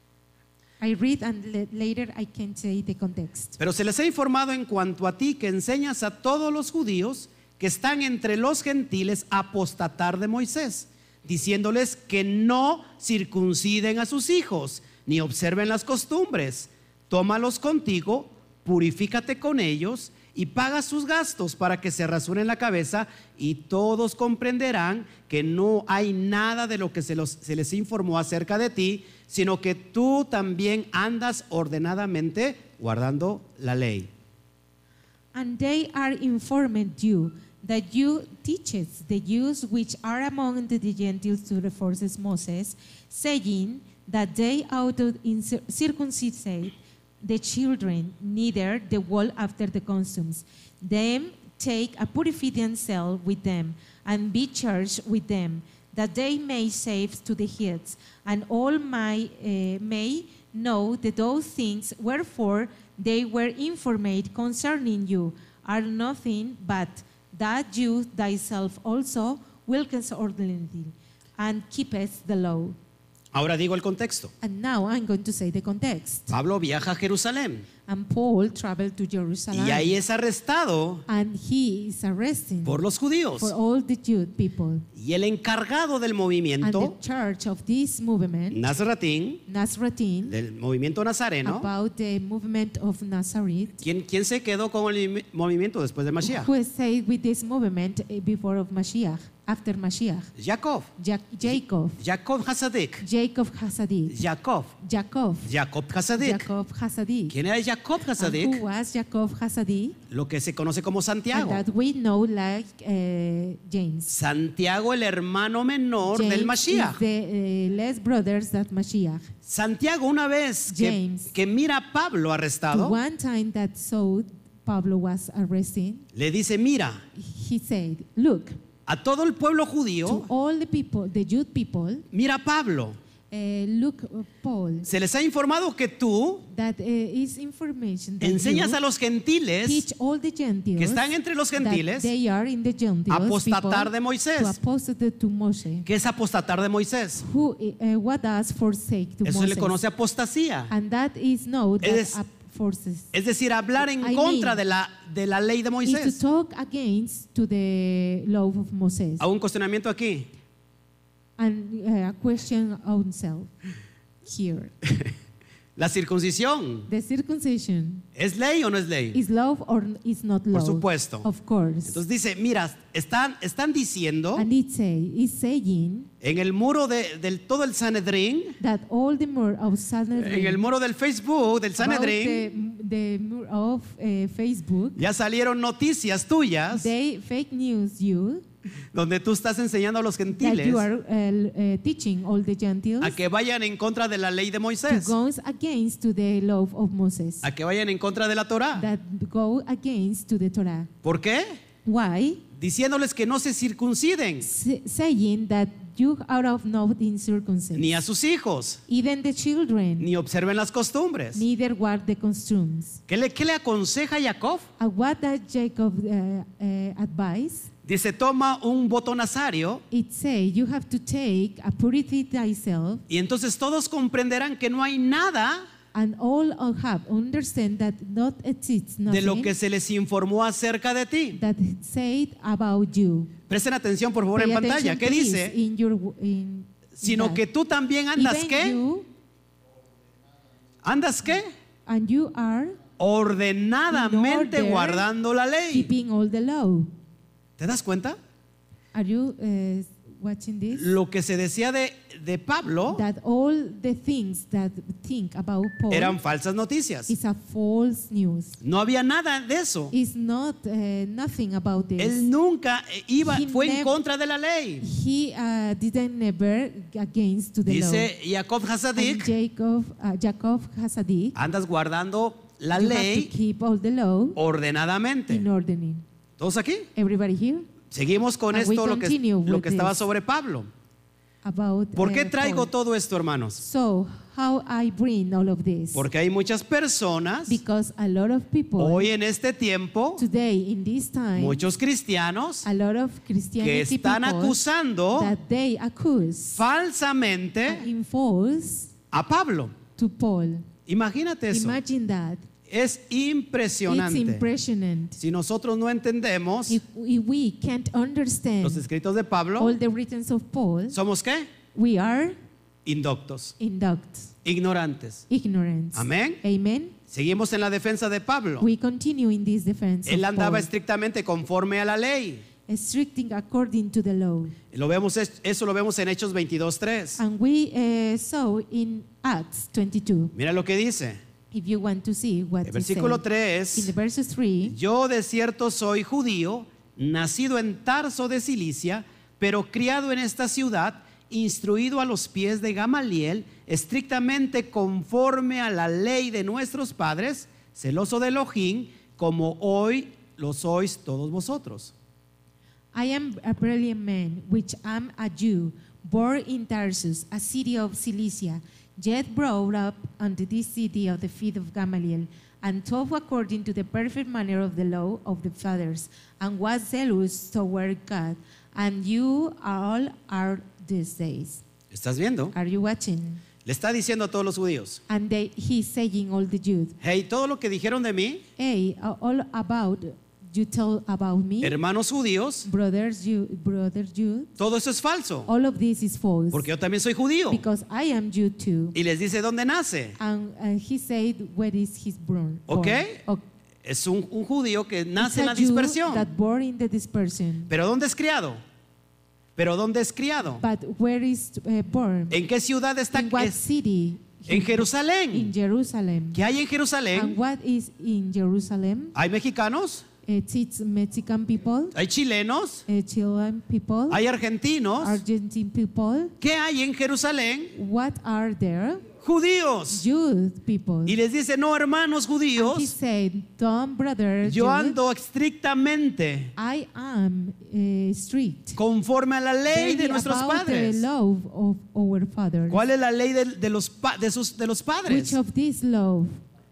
I read and later I can say the context. Pero se les ha informado en cuanto a ti que enseñas a todos los judíos que están entre los gentiles a apostatar de Moisés, diciéndoles que no circunciden a sus hijos, ni observen las costumbres. Tómalos contigo, purifícate con ellos y paga sus gastos para que se rasuren la cabeza, y todos comprenderán que no hay nada de lo que se les informó acerca de ti, sino que tú también andas ordenadamente guardando la ley. And they are informed you that you teachest the Jews which are among the Gentiles to the forces Moses, saying that they ought to circumcise the children, neither the wall after the customs. Them take a purification cell with them, and be charged with them, that they may save to the heads, and all may know that those things wherefore they were informed concerning you are nothing but that you thyself also wilkest ordinarily, and keepest the law. Ahora digo el contexto. And now I'm going to say the context. Pablo viaja a Jerusalén And Paul traveled to Jerusalem. y ahí es arrestado And he is arrested por los judíos. for all the Jewish people. Y el encargado del And the movimiento church of this movement, Nazratín, Nazarene, del movimiento nazareno, about the movement of Nazareth, ¿quién se quedó con el movimiento después de Mashiach? who stayed with this movement before of Mashiach, after Mashiach? Jacob. Jacob. Jacob Hasadik. Jacob Hasadik. Jacob. Jacob. Jacob Hasadik. Jacob Hasadik. ¿Quién era Jacob And Hasadik? who was Jacob Hasadik? Lo que se conoce como And Santiago. that we know like James. Santiago, el hermano menor del James Mashiach. is the less brothers that Mashiach. Santiago, una vez James. que mira a Pablo The arrestado, one time that saw Pablo was arrested, le dice, mira, he said, look, a todo el pueblo to judío, all the people, the Jewish people, mira a Pablo. look, Paul, Se les ha informado que tú that is information that enseñas you a los gentiles teach all the Gentiles que están entre los gentiles that they are in the Gentiles apostatar people de Moisés. to apostate to Moshe. ¿Qué es apostatar de Moisés? Who, what does forsake to Eso se le Moses? conoce apostasía. And that is no that Es- forces. Es decir, hablar en I contra mean, de la ley de Is Moisés. to talk against to the law of Moses ¿Hago un cuestionamiento aquí? and question ourselves here. ¿La circuncisión The circumcision es ley o no es ley? is law or is not law? Por supuesto. Of course. Entonces dice, mira, están diciendo And is saying en el muro del todo el Sanedrín, that all the more of Sanhedrin, en el muro del Facebook del about Sanedrín, the more of Facebook, ya salieron noticias tuyas they fake news you donde tú estás enseñando a los that gentiles you are teaching all the Gentiles a que vayan en contra de la ley de to Moisés, go against to the law of Moses, a que vayan en contra de la Torá. that go against to the Torah. ¿Por qué? Why? Diciéndoles que no se circunciden. Saying that you are of no incircumcised, ni a sus hijos, even the children, ni observen las costumbres. neither what the customs. ¿Qué le aconseja Jacob? What does Jacob advise? Dice, toma un voto nazario It say you have to take a purity thyself, y entonces todos comprenderán que no hay nada and all have understand that not exists de lo nothing que se les informó acerca de ti. that said about you. Presten atención por favor Pay en pantalla. attention, ¿Qué please, dice? in Sino that. que tú también andas Even ¿qué? you, ¿Andas qué? and you are Ordenadamente In order, guardando la ley. keeping all the law. ¿Te das cuenta? Are you watching this? Lo que se decía de Pablo That all the things that think about Paul eran falsas noticias. is a false news. No había nada de eso. It's not nothing about this. Él nunca fue en never- contra de la ley. He didn't never against to the Dice Jacob law. Hasadik, And Jacob Hasadik, andas guardando la you have to ley keep all the law ordenadamente. in ordering. ¿Todos aquí? Everybody here? Seguimos con And we esto, lo continue with que estaba this. sobre Pablo. About ¿Por qué traigo Paul. todo esto, hermanos? So, how I bring all of this? Porque hay muchas personas Because a lot of people hoy en este tiempo, today in this time, muchos cristianos a lot of que Christianity están people acusando that they accuse falsamente in false a Pablo. to Paul. Imagínate eso. Imagine that. Es It's impresionante. impressionant. Si nosotros no entendemos If we can't understand los escritos de all Pablo, the writings of Paul, ¿somos qué? we are Indoctos, induct, ignorantes. ignorance. Amén. Amen. Seguimos en la defensa de Pablo. We continue in this defense Él of andaba Paul, estrictamente conforme a la ley. restricting according to the law. Eso lo vemos en Hechos 22:3. And we saw in Acts 22. Mira lo que dice. If you want to see what El it versículo says. In the 3. verses 3, Yo de cierto soy judío, nacido en Tarso de Cilicia, pero criado en esta ciudad, instruido a los pies de Gamaliel, estrictamente conforme a la ley de nuestros padres, celoso de Elohim, como hoy lo sois todos vosotros. I am a brilliant man, which am a Jew, born in Tarsus, a city of Cilicia, yet brought up unto this city of the feet of Gamaliel, and taught according to the perfect manner of the law of the fathers, and was zealous toward God. And you all are these days. ¿Estás viendo? Are you watching? Le está diciendo a todos los judíos, And he's saying all the Jews, hey, todo lo que dijeron de mí, hey, all about you tell about me, hermanos judíos, brother Jew, todo eso es falso, all of this is false. porque yo también soy judío. Because I am Jew too. Y les dice dónde nace. And he said, where is his born? ¿Ok? Ok. Es un judío que It's nace en a la Jew dispersión. that born in the dispersion. ¿Pero dónde es criado? ¿Pero dónde es criado? But where is born? ¿En qué ciudad está? In what city? En In Jerusalén. Jerusalem. ¿Qué hay en And Jerusalén? what is in Jerusalem? ¿Hay mexicanos? It's Mexican people, ¿Hay chilenos? Chilean people, ¿Hay argentinos? Argentine people. ¿Qué hay en Jerusalén? What are there? Judíos. Jews people. Y les dice, no, hermanos He judíos, said, Don't brother, yo Jew, ando estrictamente I am strict. conforme a la ley de Very nuestros about the padres. law of our fathers. ¿Cuál es la ley de los Which padres? of this law?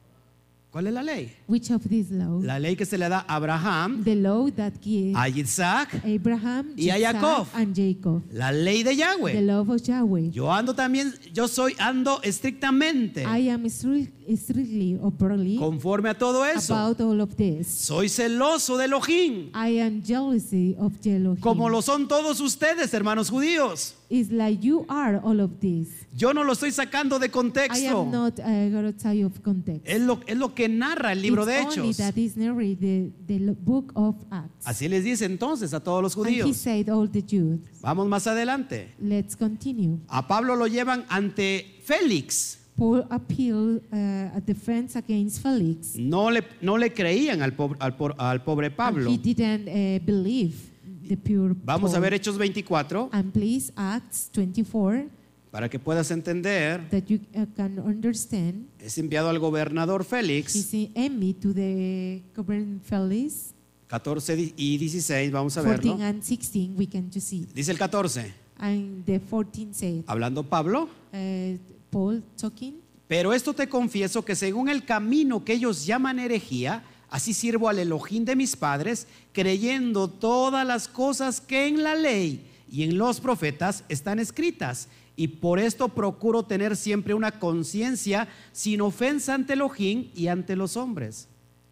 ¿Cuál es la ley? Which of this law? La ley que se le da a Abraham, The law that gives a Isaac, Abraham, y a Isaac, Jacob. and Jacob. la ley de The Yahweh. law of Yahweh. Yo ando también, ando estrictamente I am strictly or barely conforme a todo eso. about all of this. Soy celoso de Elohim, I am jealousy of Elohim. como lo son todos ustedes, hermanos judíos. It's like you are all of this. Yo no lo estoy sacando de I contexto. am not going to tell you of context. Es lo que narra el libro It's de only Hechos. that is narrated the book of Acts. Así les dice entonces a todos los And he judíos. said all the Jews. Vamos más adelante. Let's continue. A Pablo lo llevan ante Félix. Paul appealed a defense against Felix. No le creían al pobre Pablo. And he didn't believe the pure Vamos a Paul. ver Hechos 24 And please, Acts 24, para que puedas entender. that you can understand. Es enviado al gobernador Félix. He's in enemy to the governor Felix. 14 y 16, vamos a 14 verlo. and 16, we can just see. Dice el 14. And the 14 said, hablando Pablo, Paul talking, pero esto te confieso que según el camino que ellos llaman herejía, así sirvo al Elohim de mis padres, creyendo todas las cosas que en la ley y en los profetas están escritas. Y por esto procuro tener siempre una conciencia sin ofensa ante Elohim y ante los hombres.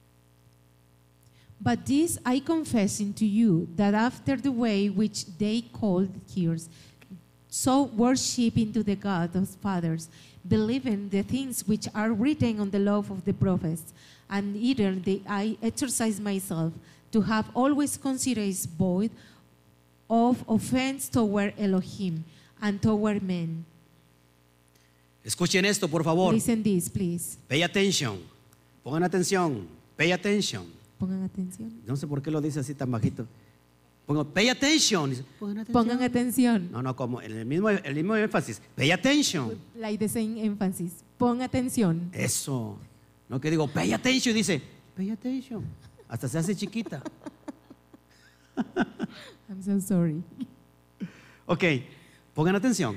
but this I confess unto you, that after the way which they called yours, so worshiping to the God of fathers, believing the things which are written on the law of the prophets, and either I exercise myself to have always considered void of offense toward Elohim and toward men. Escuchen esto, por favor. Listen this, please. Pay attention. Pongan atención. Pay attention. Pongan atención. No sé por qué lo dice así tan bajito. Pongo, pay attention. Dice, Pongan atención. No, como el mismo énfasis. Pay attention. Like the same emphasis. Pon atención. Eso. No que digo, pay attention. Dice, pay attention. Hasta se hace chiquita. I'm so sorry. Ok, pongan atención.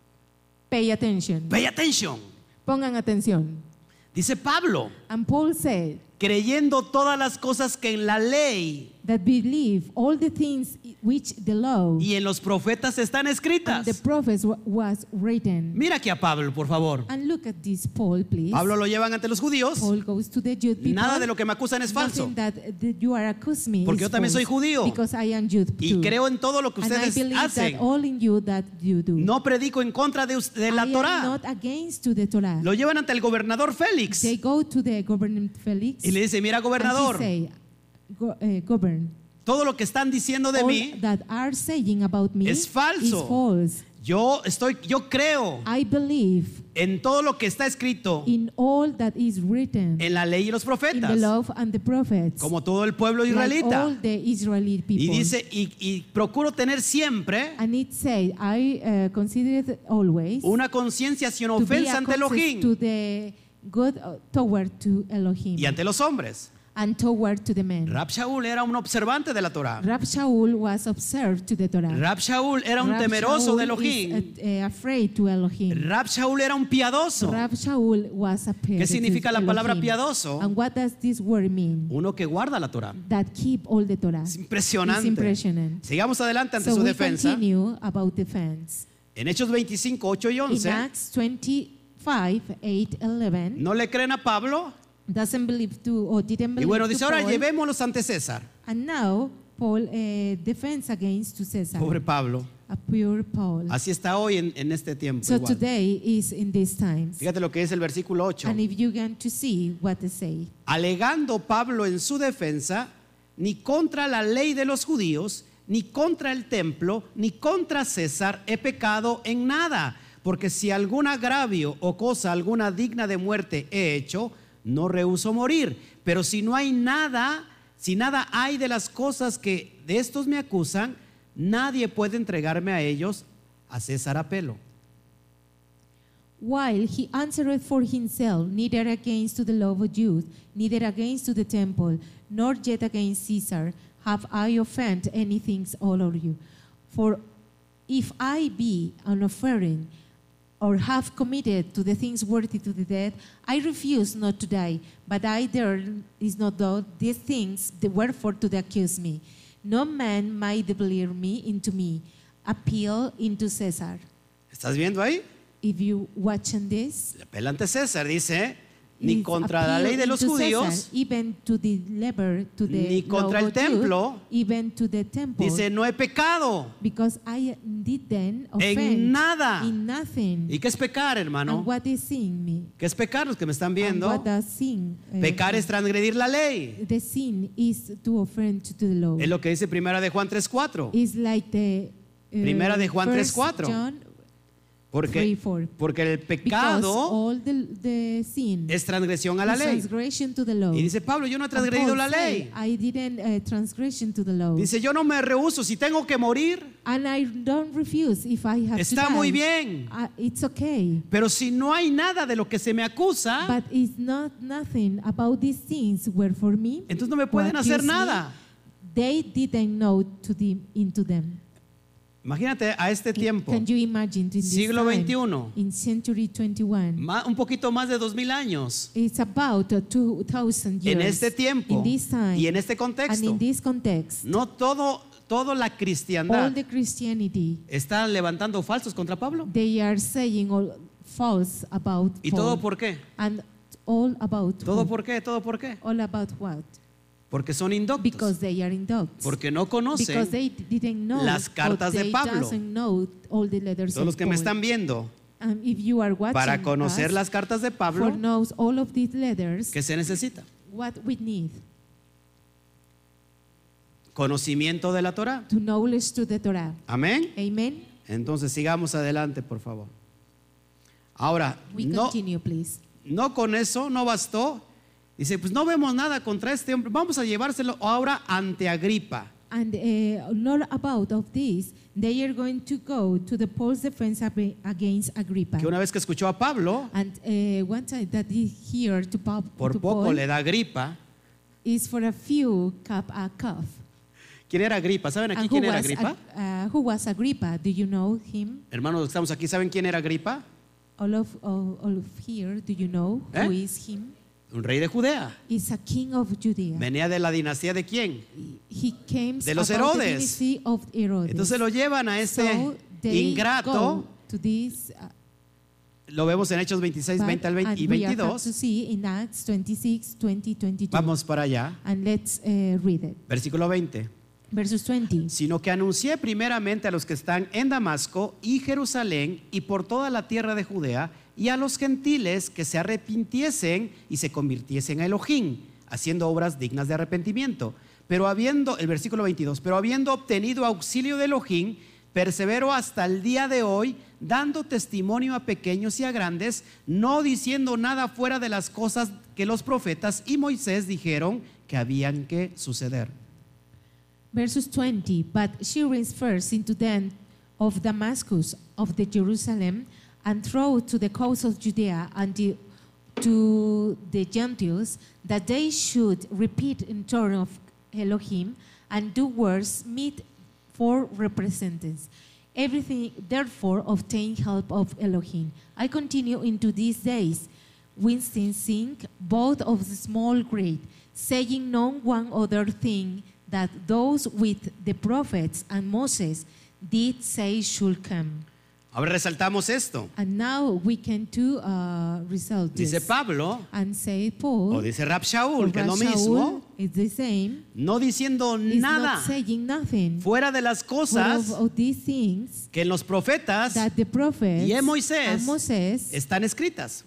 Pay attention. Pay attention. Pongan atención. Dice Pablo, And Paul said creyendo todas las cosas que en la ley that believe all the things which the law y en los profetas están and escritas. the prophets was written. Mira aquí a Pablo, por favor. And look at this, Paul, please. Pablo lo llevan ante los judíos. Paul goes to the Jewish people. Nada de lo que me acusan es falso. Nothing that you are accusing me Porque is yo también soy false, judío. because I am Jew Y too. creo en todo lo que And I ustedes believe hacen. that all in you that you do. No predico en contra de la I am Torá. not against to the Torah. Lo llevan ante el gobernador Félix. They go to the governor Felix. Y le dice, mira, And he gobernador, say, govern. todo lo que están diciendo de All mí, that are saying about me es falso. is false. yo creo I believe en todo lo que está escrito in all that is written en la ley y los in the profetas, law and the prophets, como todo el pueblo like israelita. all the Israeli people. Y dice, y procuro tener siempre And it said, I consider it always una conciencia sin to be ofensa a ante conscience to Elohim the good toward to Elohim y ante los hombres. and toward to the men. Rab Shaul era un observante de la Torá. Rab Shaul was observed to the Torah. Rab Shaul era un Rab temeroso de Shaul Elohim. is, afraid to Elohim. Rab Shaul era un piadoso. Rab Shaul was a ¿Qué significa la palabra piadoso? And what does this word mean? Uno que guarda la Torá. That keep all the Torah. Es impresionante. It's impressionant. Sigamos adelante ante So su we defensa. continue about defense. En Hechos 25, 8 y In 11, Acts 25, 8, 11, no le creen a Pablo. doesn't believe to or didn't Y believe bueno, to dice, ahora Paul. llevémoslos ante César. And now Paul defends against to Caesar. Pobre Pablo. A pure Paul. Así está hoy en este tiempo. So igual. today is in these times. Fíjate lo que es el versículo 8. And if you get to see what they say. Alegando Pablo en su defensa, ni contra la ley de los judíos, ni contra el templo, ni contra César he pecado en nada, porque si algún agravio o cosa alguna digna de muerte he hecho, no rehúso morir. Pero si no hay nada, si nada hay de las cosas que de estos me acusan, nadie puede entregarme a ellos, a César apelo. While he answered for himself, neither against to the law of Jews, neither against to the temple, nor yet against Caesar, have I offended anything all of you. For if I be an offering, or have committed to the things worthy to the death, I refuse not to die, but I there is not though these things, the wherefore to accuse me. No man might deliver me into me, appeal into Caesar. ¿Estás viendo ahí? If you watching this, Le apela ante César, dice, ni is contra la appeal ley de los into judíos, Caesar, even to the lever, to the ni contra law el of Jude, templo, even to the temple, dice, no he pecado because I did then en offend nada. in nothing. ¿Y qué es pecar, hermano? And what is sin me? ¿Qué es pecar? Los que me están And viendo. what does sin? Pecar es transgredir la ley. The sin is to offend to the law. Es lo que dice Primera de Juan 3:4. It's like the Primera de Juan 3:4. John Porque 3:4. el Because pecado all the sin es transgresión a la is ley. transgression to the law. Y dice Pablo, yo no he And transgredido Paul la said, ley. I didn't transgression to the law. Dice, yo no me rehúso. Si tengo que morir, And I don't refuse if I have está to die. muy bien. It's okay. Pero si no hay nada de lo que se me acusa, But it's not nothing about these things were for me. entonces no me who pueden hacer accuse me. nada. They didn't know into them. Imagínate a este tiempo, Can you imagine in this siglo time, XXI, in century 21? un poquito más de 2000 años, It's about 2,000 years. en este tiempo in this time, y en este and contexto. in this context, No toda la all cristiandad the Christianity, está levantando falsos contra Pablo. they are saying all false about ¿Y Paul. todo por qué? And all about ¿Todo who? por qué? ¿Todo por qué? All about what? Porque son indoctos. Because they are indocts. Porque no Because conocen. they didn't know las cartas or de they Pablo. doesn't know all the letters Todos los of que me Paul. están viendo, If you are watching para conocer us, las cartas de for Pablo, knows all of these letters, ¿qué se necesita? what we need Conocimiento de la Torah. to knowledge to the Torah. Amén. Amen. Entonces sigamos adelante, por favor. Ahora, We no, continue, please. no con eso, no bastó. Dice, pues no vemos nada contra este hombre. Vamos a llevárselo ahora ante Agripa. And not about of this, they are going to go to the Paul's defense against Agrippa. Que una vez que escuchó a Pablo, And one time that he hear to por poco Paul le da gripa. is for a few a cough. ¿Quién era Agripa? ¿Saben aquí And quién era Agripa? Who was Agrippa? Do you know him? Hermanos, los que estamos aquí, ¿saben quién era Agripa? All of here, do you know who is him? Un rey de Judea. He's a king of Judea. Venía de la dinastía de quién? He came De los about the Herodes. dynasty of Herodes. Entonces lo llevan a este So they ingrato. go to this, Lo vemos en Hechos 26, 20 al 20 y and we are about to 22. see in Acts 26, 20, 22. Vamos para allá. And let's read it. Versículo 20. Verses 20. Sino que anuncié primeramente a los que están en Damasco y Jerusalén y por toda la tierra de Judea y a los gentiles que se arrepintiesen y se convirtiesen a Elohim, haciendo obras dignas de arrepentimiento. Pero el versículo 22, pero habiendo obtenido auxilio de Elohim, persevero hasta el día de hoy, dando testimonio a pequeños y a grandes, no diciendo nada fuera de las cosas que los profetas y Moisés dijeron que habían que suceder. Verses 20. But she raised first into them of Damascus, of the Jerusalem, and through to the coast of Judea, and to the Gentiles, that they should repeat in turn of Elohim, and do words meet for repentance. Everything, therefore, obtain help of Elohim. I continue into these days, witnessing both of the small great, saying no one other thing that those with the prophets and Moses did say should come. Ahora resaltamos esto. And now we can do result Dice this. Pablo, And say Paul, o dice Rab or Shaul, que es lo Shaul mismo, is the same. no diciendo He's nada not saying nothing. fuera de las But cosas of these things que en los profetas that the prophets y en Moisés and Moses están escritas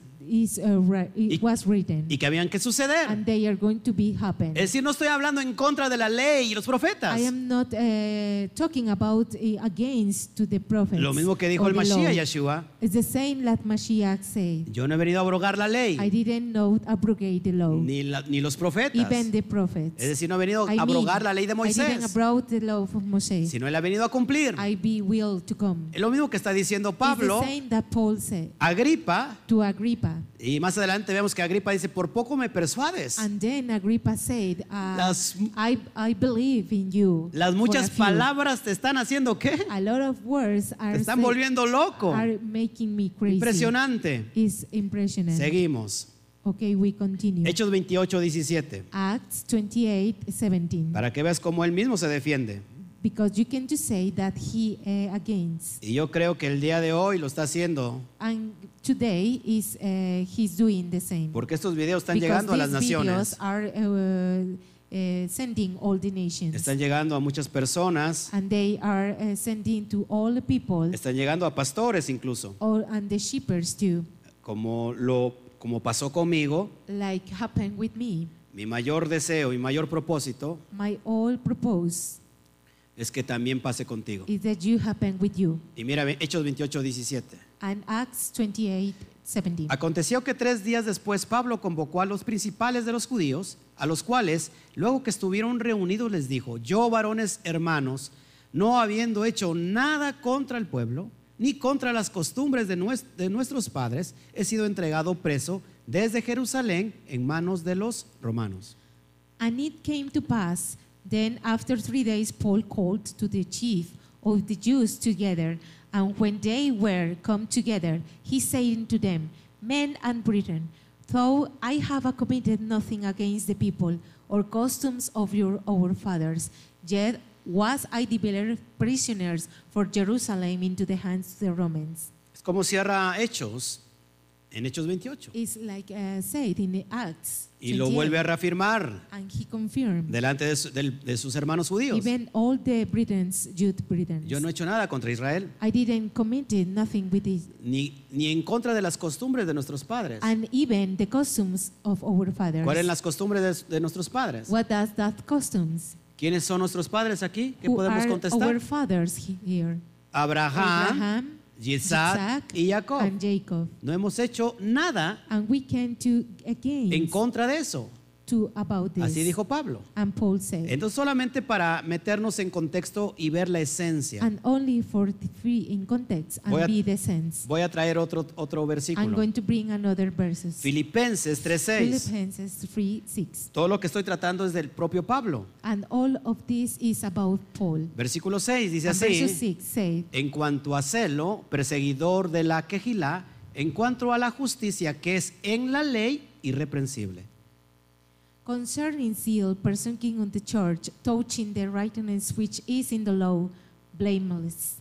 was written, y que habían que suceder. and they are going to be happen. Es decir, no estoy hablando en contra de la ley y los profetas. I am not talking about against to the prophets. Lo mismo que dijo or el the law. Mashiach Yeshua. It's the same that Mashiach said. Yo no he venido a abrogar la I ley, didn't know abrogate the law. ni los profetas. Even the prophets. Es decir, no he venido I a abrogar mean, la ley de I didn't Moisés, abroad the law of Moses. sino él ha venido a cumplir. I be will to come. Es lo mismo que está diciendo It's Pablo, the same that Paul said Agripa, to Agrippa. y más adelante vemos que Agripa dice, por poco me persuades. And then Agrippa said, Las- I believe in you. Las for muchas a few. palabras te están haciendo ¿qué? A lot of words Te are, están volviendo loco. are making me crazy. Impresionante. It's impressionant. Seguimos. Okay, we continue. Hechos 28, 17. Acts 28:17. Para que veas cómo él mismo se defiende. Because you can just say that he against. Y yo creo que el día de hoy lo está haciendo And today is he's doing the same. porque estos videos están Because llegando a las these videos naciones. are sending all the nations. Están llegando a muchas personas. And they are sending to all the people, Están llegando a pastores incluso. and the shepherds too, Como pasó conmigo, like happened with me. mi mayor deseo y mayor propósito My all purpose es que también pase contigo. is that you happen with you. Y mira, Hechos 28, 17. And Acts 28:17. Aconteció que 3 días después Pablo convocó a los principales de los judíos, a los cuales, luego que estuvieron reunidos, les dijo: yo, varones hermanos, no habiendo hecho nada contra el pueblo, ni contra las costumbres de nuestros padres, he sido entregado preso desde Jerusalén en manos de los romanos. And it came to pass, then after 3 days, Paul called to the chief of the Jews together. And when they were come together, he said unto them, Men and brethren, though I have committed nothing against the people or customs of our fathers, yet was I delivered prisoners for Jerusalem into the hands of the Romans. Es como cierra Hechos, en Hechos 28. It's like said in the Acts. Y lo 28. vuelve a reafirmar And he confirmed, delante de sus hermanos judíos. even all the Britons, Jude Britons, Yo no he hecho nada contra Israel, I didn't commit nothing with it, ni en contra de las costumbres de nuestros padres. and even the customs of our fathers. ¿Cuáles son las costumbres de nuestros padres? What does that customs? ¿Quiénes son nuestros padres aquí? ¿Qué Who podemos are contestar? our fathers here? Abraham, Isaac y Jacob. and Jacob. No hemos hecho nada And we can do en against contra de eso. to about this. Así dijo Pablo. And Paul said, Entonces, solamente para meternos en contexto y ver la esencia, and only for the free in context and Voy a- be the sense. voy a traer otro I'm versículo. going to bring another verses. Filipenses 3:6. Philippians 3:6. Todo lo que estoy tratando es del propio Pablo. And all of this is about Paul. Versículo 6 dice And verse así: 6 said, en cuanto a celo, perseguidor de la quejilá, en cuanto a la justicia que es en la ley, irreprensible. concerning zeal, persecuting on the church, touching the righteousness which is in the law, blameless.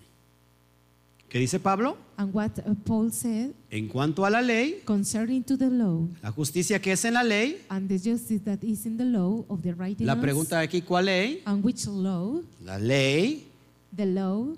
¿Qué dice Pablo? And what Paul said, En cuanto a la ley, concerning to the law, la justicia que es en la ley, and the justice that is in the law of the righteousness. la pregunta aquí, ¿cuál ley? And which law? La ley The law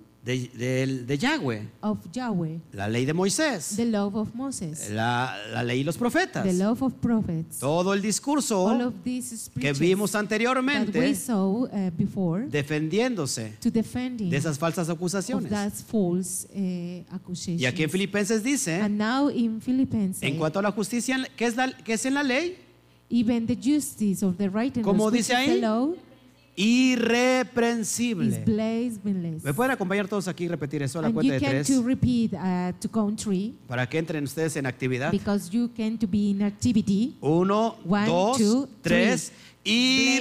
de Yahweh, of Yahweh, la ley de Moisés, the law of Moses, la ley y los profetas. the law of prophets. Todo el discurso All of these que speeches vimos that we anteriormente saw before defendiéndose to defending de esas falsas of acusaciones. that false accusation. Y aquí en Filipenses dice, And now in Philippians, en cuanto a la justicia que es en la ley, even the justice of the righteousness ¿Cómo which dice is ahí? the law is irreprensible. blameless. ¿Me pueden acompañar todos aquí y repetir eso a la And cuenta you de can 3? to repeat to count 3 Para que entren ustedes en actividad. because you can to be in activity. 1, One, 2, two, 3. three.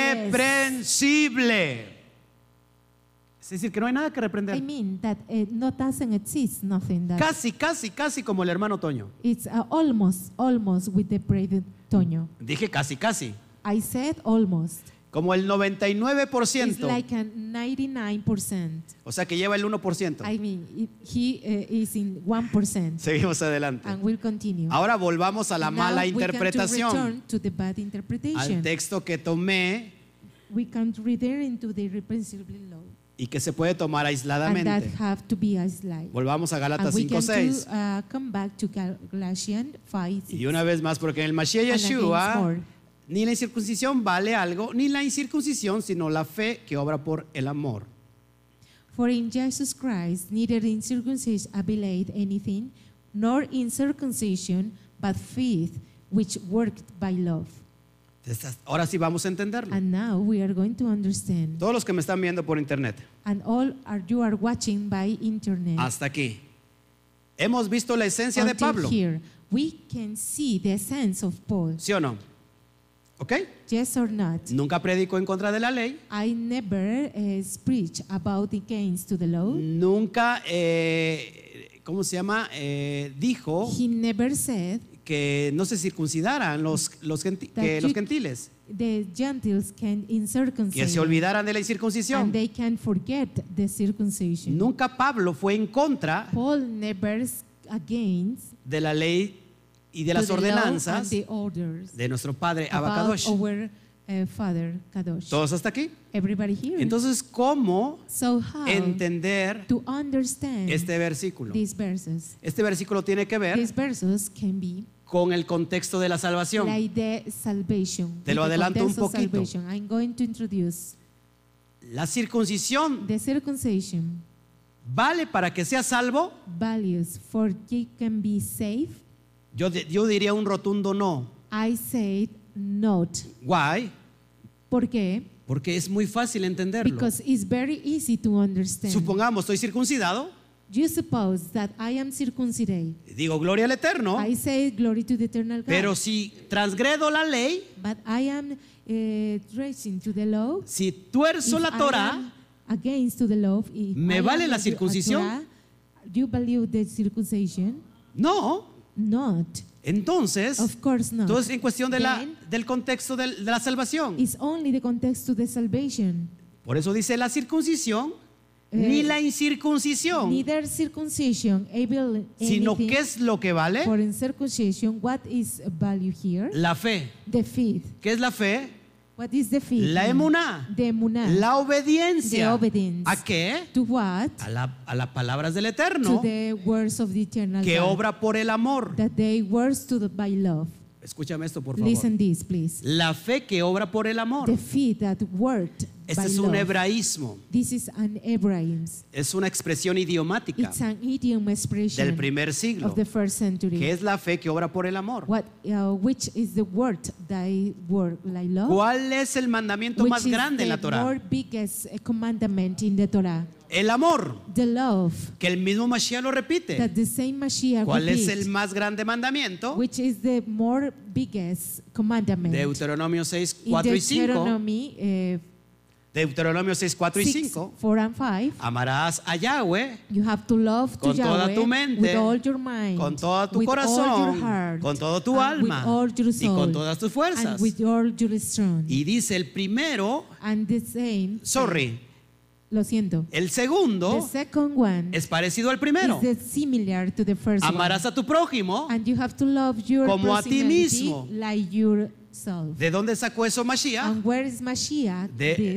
Irreprensible. Es decir, que no hay nada que I reprender. mean that no doesn't exist nothing that Casi como el hermano Toño. it's almost with the brave Toño. Dije casi. I said almost. Como el It's 99%. like a 99%. O sea que lleva el 1%. I mean, he is in 1%. Seguimos adelante. And we'll continue. Ahora volvamos a la Now mala we can to interpretación. return to the bad Al interpretation. texto que tomé We can return into the irrepressible law. y que se puede tomar And that aisladamente. have to be isolated. Volvamos a Gálatas And we can 5:6. come back to Galatians 5:6. Y una vez más, porque en el Mashiach And against Yeshua, more. ni la incircuncisión vale algo, ni la incircuncisión, sino la fe que obra por el amor. For in Jesus Christ neither in circumcision availeth anything, nor in circumcision, but faith which worked by love. Ahora sí vamos a entenderlo. And now we are going to understand. Todos los que me están viendo por internet, And all you are watching by internet. hasta aquí. Hemos visto la esencia de Until Pablo, here, we can see the essence of Paul. ¿sí o no? ¿Ok? Yes or not? Nunca predicó en contra de la ley. I never preach about against to the law. Nunca, ¿cómo se llama? Dijo He never said que no se circuncidaran los gentiles, the Gentiles can que se incircumcise olvidaran de la incircuncisión. and they can forget the circumcision. Nunca Pablo fue en contra Paul never against de la ley y de to las the law and ordenanzas the orders de nuestro padre about Abacadosh. our Father Kadosh. ¿Todos hasta aquí? Everybody here. Entonces, ¿cómo So how entender to understand este versículo? these verses? Este versículo tiene que ver These verses can be con el contexto de la salvación. like the salvation. Te lo with the adelanto un context of poquito. salvation. I'm going to introduce La circuncisión the circumcision vale para que sea salvo. values for you can be saved. Yo diría un rotundo no. I said not. Why? ¿Por qué? Porque es muy fácil entenderlo. Because it's very easy to understand. Supongamos, estoy circuncidado, You suppose that I am circumcised. digo gloria al Eterno, I say glory to the eternal God. pero si transgredo la ley, But I am tracing to the law. si tuerzo If la I Torah, am against to the law, if ¿Me I vale am la a circuncisión? Torah, do you value the circumcision? No. Not. Entonces, Of course not. todo es en cuestión de Then, del contexto de la salvación. it's only the context to the salvation. Por eso dice la circuncisión, ni la incircuncisión, Neither circumcision able sino anything, ¿qué es lo que vale? for in circumcision, what is value here? La fe. The faith. ¿Qué es la fe? What is the faith? La emuná. The emuná. La obediencia. The obedience. ¿A qué? To what? A las palabras del To Eterno, the words of the eternal que God. obra por el amor. That they words to the by love. Escúchame esto, por favor. Listen this, please. La fe que obra por el amor. The faith that worked Este by es un love. hebraísmo. This is an Hebraism. Es una expresión idiomática It's an idiom expression del primer siglo, of the first century. que es la fe que obra por el amor. Which is the word thy word like love? ¿Cuál es el mandamiento Which más is grande en la the Torah? more biggest commandment in the Torah? El amor, The love que el mismo Mashiach lo repite. that the same Mashiach ¿Cuál es repeat, el más grande mandamiento? which is the more biggest commandment. Deuteronomio 6, In 4 y 5. Deuteronomy Deuteronomio 6, 4 y 6, 5. 4 and 5, Amarás a Yahweh you have to love to con toda Yahweh tu mente, with all your mind, con todo tu with all corazón, your heart, con todo tu and alma with all your y con soul, todas tus fuerzas. and with all your strength. Y dice el primero, And the same, lo siento. el The segundo second one es parecido al primero. is similar to the first Amarás one. a tu prójimo. And you have to love your como a ti personality mismo. like yourself. ¿De dónde sacó eso Mashiach? And where is Mashiach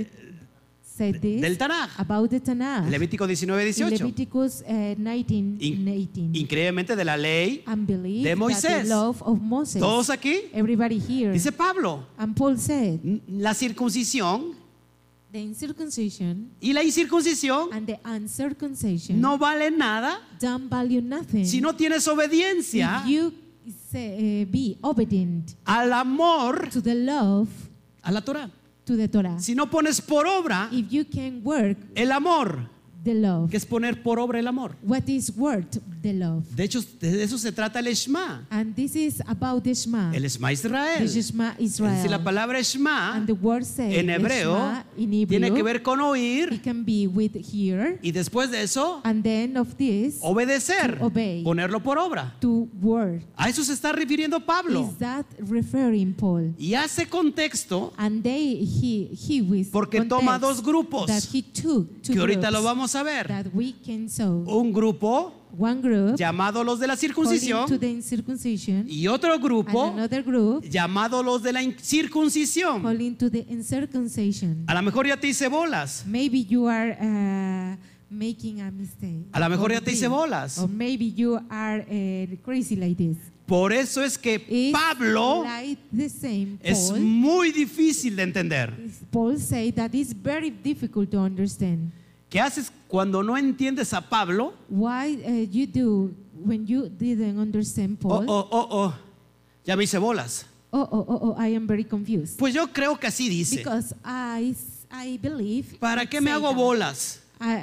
said this Del Tanaj. about the Tanakh? Levítico 19, 18. Leviticus 19, In- 18. Increíblemente de la ley. And believe de that Moisés. the love of Moses. Todos aquí. Everybody here. Dice Pablo, And Paul said, la circuncisión the incircumcision y la incircuncisión and the uncircumcision no valen nada don't value nothing si no tienes obediencia if you be obedient al amor to the love, a la Torah. to the Torah. Si no pones por obra If you can work el amor, the love, que es poner por obra el amor. what is worth the love? De hecho, de eso se trata el Shema. And this is about the Shema. El Shema Israel. The Shema Es decir, la Israel. palabra Shema And the word says en hebreo Shema in Hebrew, tiene que ver con oír it can be with hear, y después de eso and then of this, obedecer, To obey. ponerlo por obra. to word. A eso se está refiriendo Pablo. Is that referring Paul? Y hace contexto And he with porque toma dos grupos that he took two que ahorita groups lo vamos a ver. that we can saw. Un grupo One group llamado los de la calling to circuncisión the incircumcision, y otro grupo and another group llamado los de la incircuncisión. calling to the uncircumcision. A lo mejor ya te hice bolas. Maybe you are making a mistake. A lo mejor Or ya te hice this. bolas. Or maybe you are crazy like this. Por eso es que It's Pablo like the same es Paul. muy difícil de entender. Paul say that it's very difficult to understand. ¿Qué haces cuando no entiendes a Pablo? Why you do when you didn't understand Oh, Paul? oh, ya me hice bolas. I am very confused. Pues yo creo que así dice. Because I believe. ¿Para it qué me say hago that. bolas?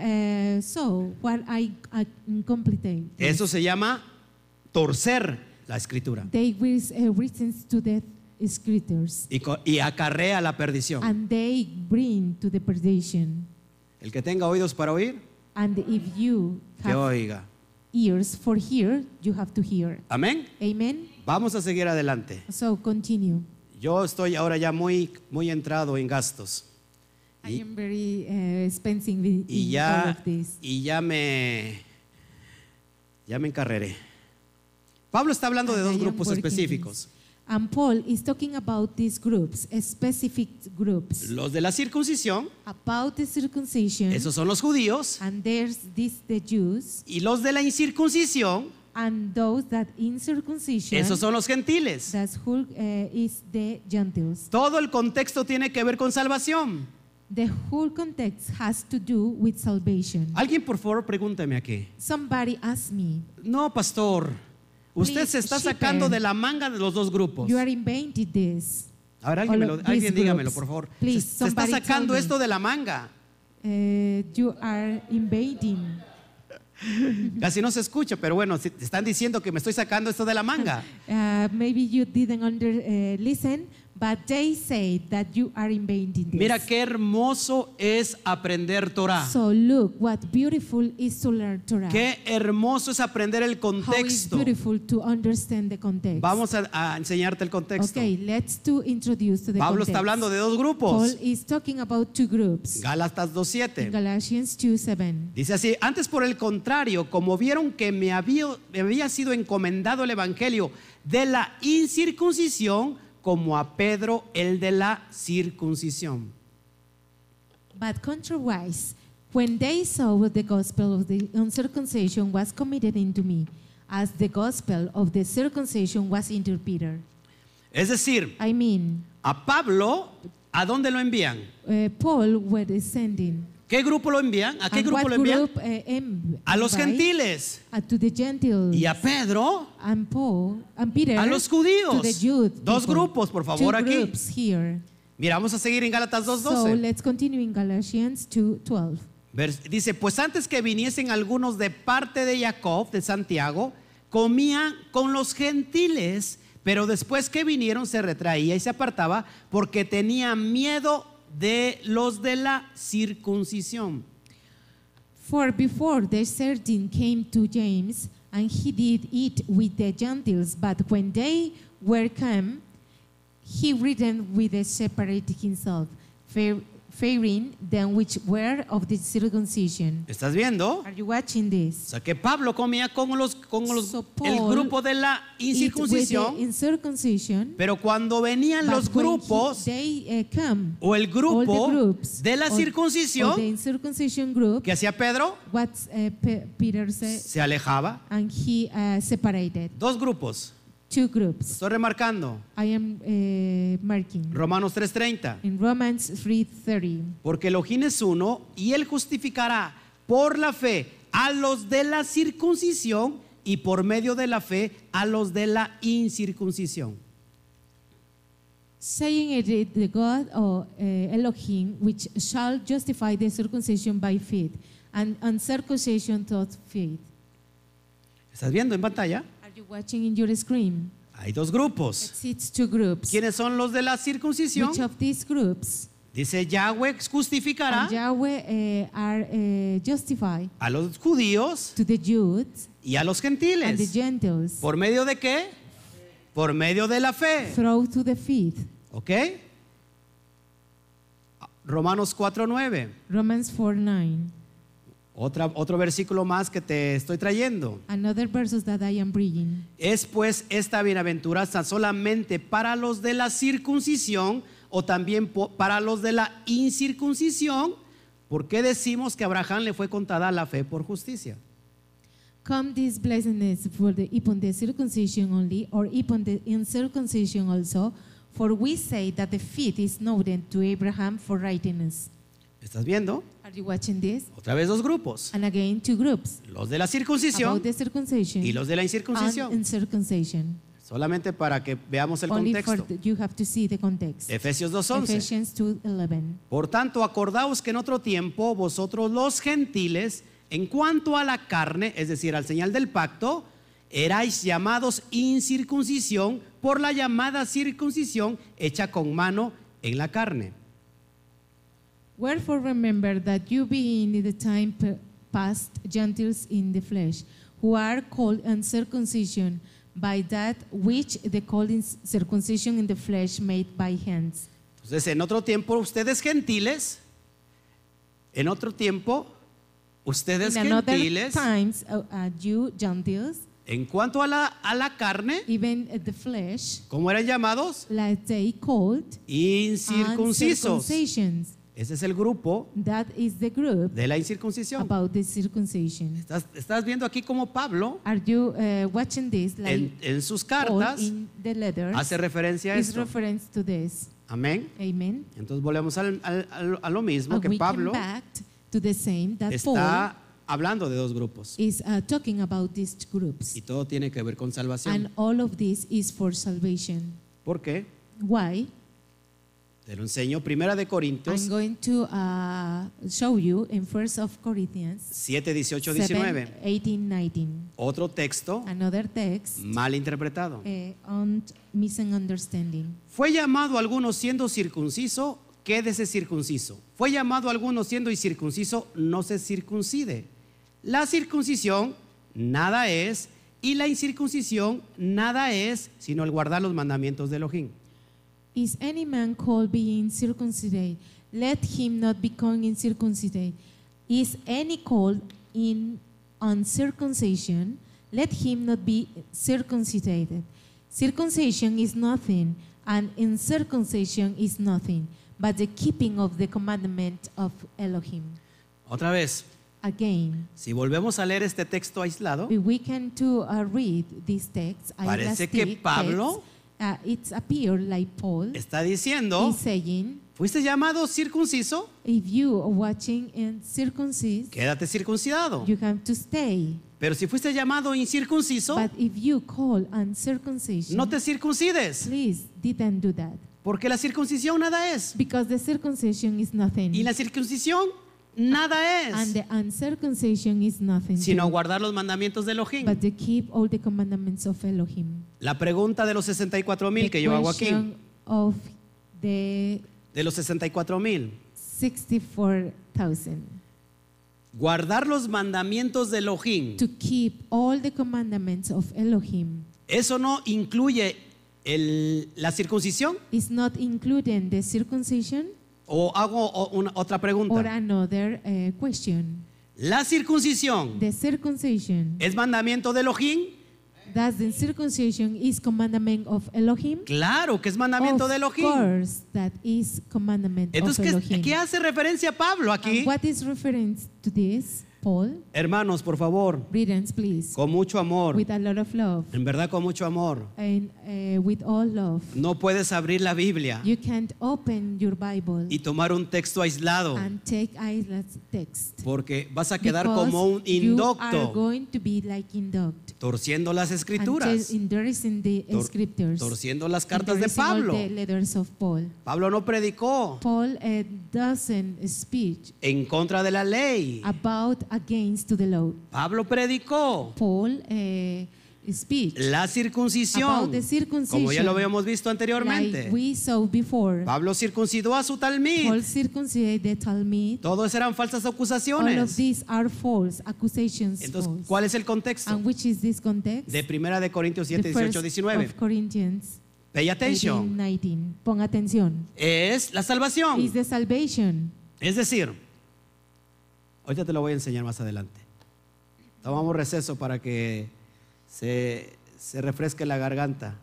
So what I complete. Eso se llama torcer la escritura They will reasons to the scriptures, y acarrea la perdición. and they bring to the perdition. El que tenga oídos para oír, And if you que have oiga. ears for hear, you have to hear. Amén. Amen. Vamos a seguir adelante. So continue. Yo estoy ahora ya muy entrado en gastos. I am very expensive with Y in all ya, of this. ya me encarreré. Pablo está hablando de And dos I am grupos working específicos. this. And Paul is talking about these groups, specific groups, Los de la circuncisión, about the circumcision, esos son los judíos, and there's this the Jews, y los de la incircuncisión, and those that in circumcision, esos son los gentiles. that's who is the Gentiles. Todo el contexto tiene que ver con salvación. The whole context has to do with salvation. Alguien por favor pregúnteme aquí. Somebody asked me, No, pastor, usted Please, se está shepherd. sacando de la manga de los dos grupos. you are inventing this. A ver, alguien, all of alguien these dígamelo, groups. por favor. Please, Se está somebody sacando tell me. esto de la manga. You are invading. Casi no se escucha, pero bueno, si te están diciendo que me estoy sacando esto de la manga. Maybe you didn't listen, but they say that you are inventing this. Mira qué hermoso es aprender Torah. So look what beautiful is to learn Torah. Qué hermoso es aprender el How is contexto. beautiful to understand the context. Vamos a enseñarte el contexto. Okay, let's to introduce to the Pablo context. está hablando de dos Paul grupos. is talking about two groups. Gálatas In 2:7. Galatians 2:7. Dice así: antes por el contrario, como vieron que me había sido encomendado el evangelio de la incircuncisión, como a Pedro el de la circuncisión. But contrariwise, when they saw the gospel of the uncircumcision was committed into me, as the gospel of the circumcision was into Peter. Es decir, I mean, a Pablo, ¿a dónde lo envían? Paul was sending. ¿Qué grupo lo envían? ¿A qué And grupo what lo envían? group, A los invite? gentiles. To the Gentiles. Y a Pedro, And Paul and Peter a los to judíos. the Jews. Dos grupos, por favor, Two aquí. groups here. Mira, vamos a seguir en Gálatas So 2:12. let's continue in Galatians 2:12. Dice: pues antes que viniesen algunos de parte de Jacob, de Santiago, comían con los gentiles, pero después que vinieron se retraía y se apartaba porque tenía miedo de los de la circuncisión. For before the certain came to James, and he did eat with the Gentiles, but when they were come, he returned with the separate himself, fearing them which were of the circumcision. ¿Estás viendo? Are you watching O this? sea que Pablo comía con los So el Paul grupo de la Eat with the incircuncisión, incircumcision, pero cuando venían los but when grupos they come, o el all the grupo groups de la of- of the circuncisión, incircumcision group, ¿qué hacía Pedro? what Peter said, Se alejaba. and he separated Dos grupos. two groups. Estoy remarcando. I am marking Romanos 3:30. in Romans 3:30. Porque Elohim es uno y él justificará por la fe a los de la circuncisión y por medio de la fe a los de la incircuncisión. Saying it is the God of Elohim, which shall justify the circumcision by faith, and uncircumcision through faith. ¿Estás viendo en pantalla? Are you watching in your screen? Hay dos grupos. It's two groups. ¿Quiénes son los de la circuncisión? Which of these groups? Dice: Yahweh justificará And Yahweh are justified a los judíos to the Jews y a los and the gentiles. Gentiles ¿Por medio de qué? Por medio de la fe. through to the faith. ¿Ok? Romanos 4:9. Romans 4:9. Otro versículo más que te estoy trayendo. Another verses that I am bringing. ¿Es pues esta bienaventuranza solamente para los de la circuncisión o también para los de la incircuncisión? ¿Por qué decimos que a Abraham le fue contada la fe por justicia? Come this blessedness upon the circumcision only, or upon the incircumcision also? For we say that the faith is known to Abraham for righteousness. ¿Estás viendo? Are you watching this? Otra vez dos grupos. And again, two groups Los de la circuncisión about the circumcision y los de la and incircuncisión. incircumcision. Solamente para que veamos el Only contexto. you have to see the context. Efesios 2:11. Ephesians 2:11. Por tanto, acordaos que en otro tiempo vosotros los gentiles, en cuanto a la carne, es decir, al señal del pacto, erais llamados incircuncisión por la llamada circuncisión hecha con mano en la carne. Wherefore remember that you being in the time past Gentiles in the flesh, who are called uncircumcision by that which the called circumcision in the flesh made by hands. Entonces, en otro tiempo, ustedes gentiles, en otro tiempo, ustedes In another gentiles, times, you Gentiles, en cuanto a la carne, even the flesh, ¿cómo eran llamados? like they called Incircuncisos. uncircumcisions. Ese es el grupo That is the group de la incircuncisión. about the circumcision. Estás viendo aquí como Pablo Are you watching this? Like en sus Paul cartas in the letters hace referencia a is esto. reference to this. Amén. Amen. Entonces volvemos a lo mismo And que we Pablo come back to the same that Paul está hablando de dos grupos is talking about these groups. y todo tiene que ver con salvación. And all of this is for salvation. ¿Por qué? Why? Te lo enseño. Primera de I'm Corintios going to show you in 1 of Corinthians 7, 18, 7, 19. 18, 19. Otro texto Another text mal interpretado. on misunderstanding. Fue llamado a algunos siendo circunciso, quédese circunciso. Fue llamado a algunos siendo incircunciso, no se circuncide. La circuncisión nada es y la incircuncisión nada es, sino el guardar los mandamientos de Elohim. Is any man called being circumcised? Let him not become incircumcised. Is any called in uncircumcision? Let him not be circumcised. Circumcision is nothing, and incircumcision is nothing, but the keeping of the commandment of Elohim. Otra vez, Again, si volvemos a leer este texto aislado, if we can to read this text, Parece que Pablo it appears like Paul está diciendo, is saying, fuiste llamado circunciso, if you are watching and circumcised, quédate circuncidado. you have to stay. Pero si fuiste llamado incircunciso, But if you call uncircumcision, no te circuncides, please didn't do that. porque la circuncisión nada es. Because the circumcision is nothing. Y la circuncisión nada And es, the uncircumcision is nothing. sino too, guardar los mandamientos de Elohim. but to keep all the commandments of Elohim. La pregunta de los 64,000 The que yo hago aquí, question of the de los 64,000, 64,000. guardar los mandamientos de Elohim, To keep all the commandments of Elohim ¿eso no incluye la circuncisión? is not including the circumcision. O hago otra Or pregunta. another question. ¿La circuncisión The circumcision, es mandamiento de Elohim? does the circumcision is commandment of Elohim? Claro que es mandamiento de Of Elohim. course, that is commandment Entonces, of ¿qué, Elohim. qué hace referencia Pablo aquí? And what is reference to this, Paul? Hermanos, por favor, Readings, please. con mucho amor, With a lot of love en verdad con mucho amor. and with all love. No puedes abrir la Biblia You can't open your Bible y tomar un texto aislado, and take island text. porque vas a quedar Because como un you are indocto, going to be like induct. torciendo las And escrituras, endorsing the scriptures. torciendo las cartas de Endorsing all Pablo. the letters of Paul. Pablo no predicó Paul doesn't speak en contra de la ley. about against to the law. Pablo predicó Paul speak la circuncisión, about the circumcision, como ya lo habíamos visto anteriormente. like we saw before. Pablo circuncidó a su talmid. Paul circumcised the Talmud. Todos eran falsas All of acusaciones. these are false accusations. Entonces, false. ¿cuál es el contexto? And which is this context? De Primera de Corintios 7, The 18, first 19. of Corinthians Pay 18, attention. 19. Pon atención. Es la salvación. Is the salvation. Es decir, ahorita te lo voy a enseñar más adelante. Tomamos receso para que se refresque la garganta.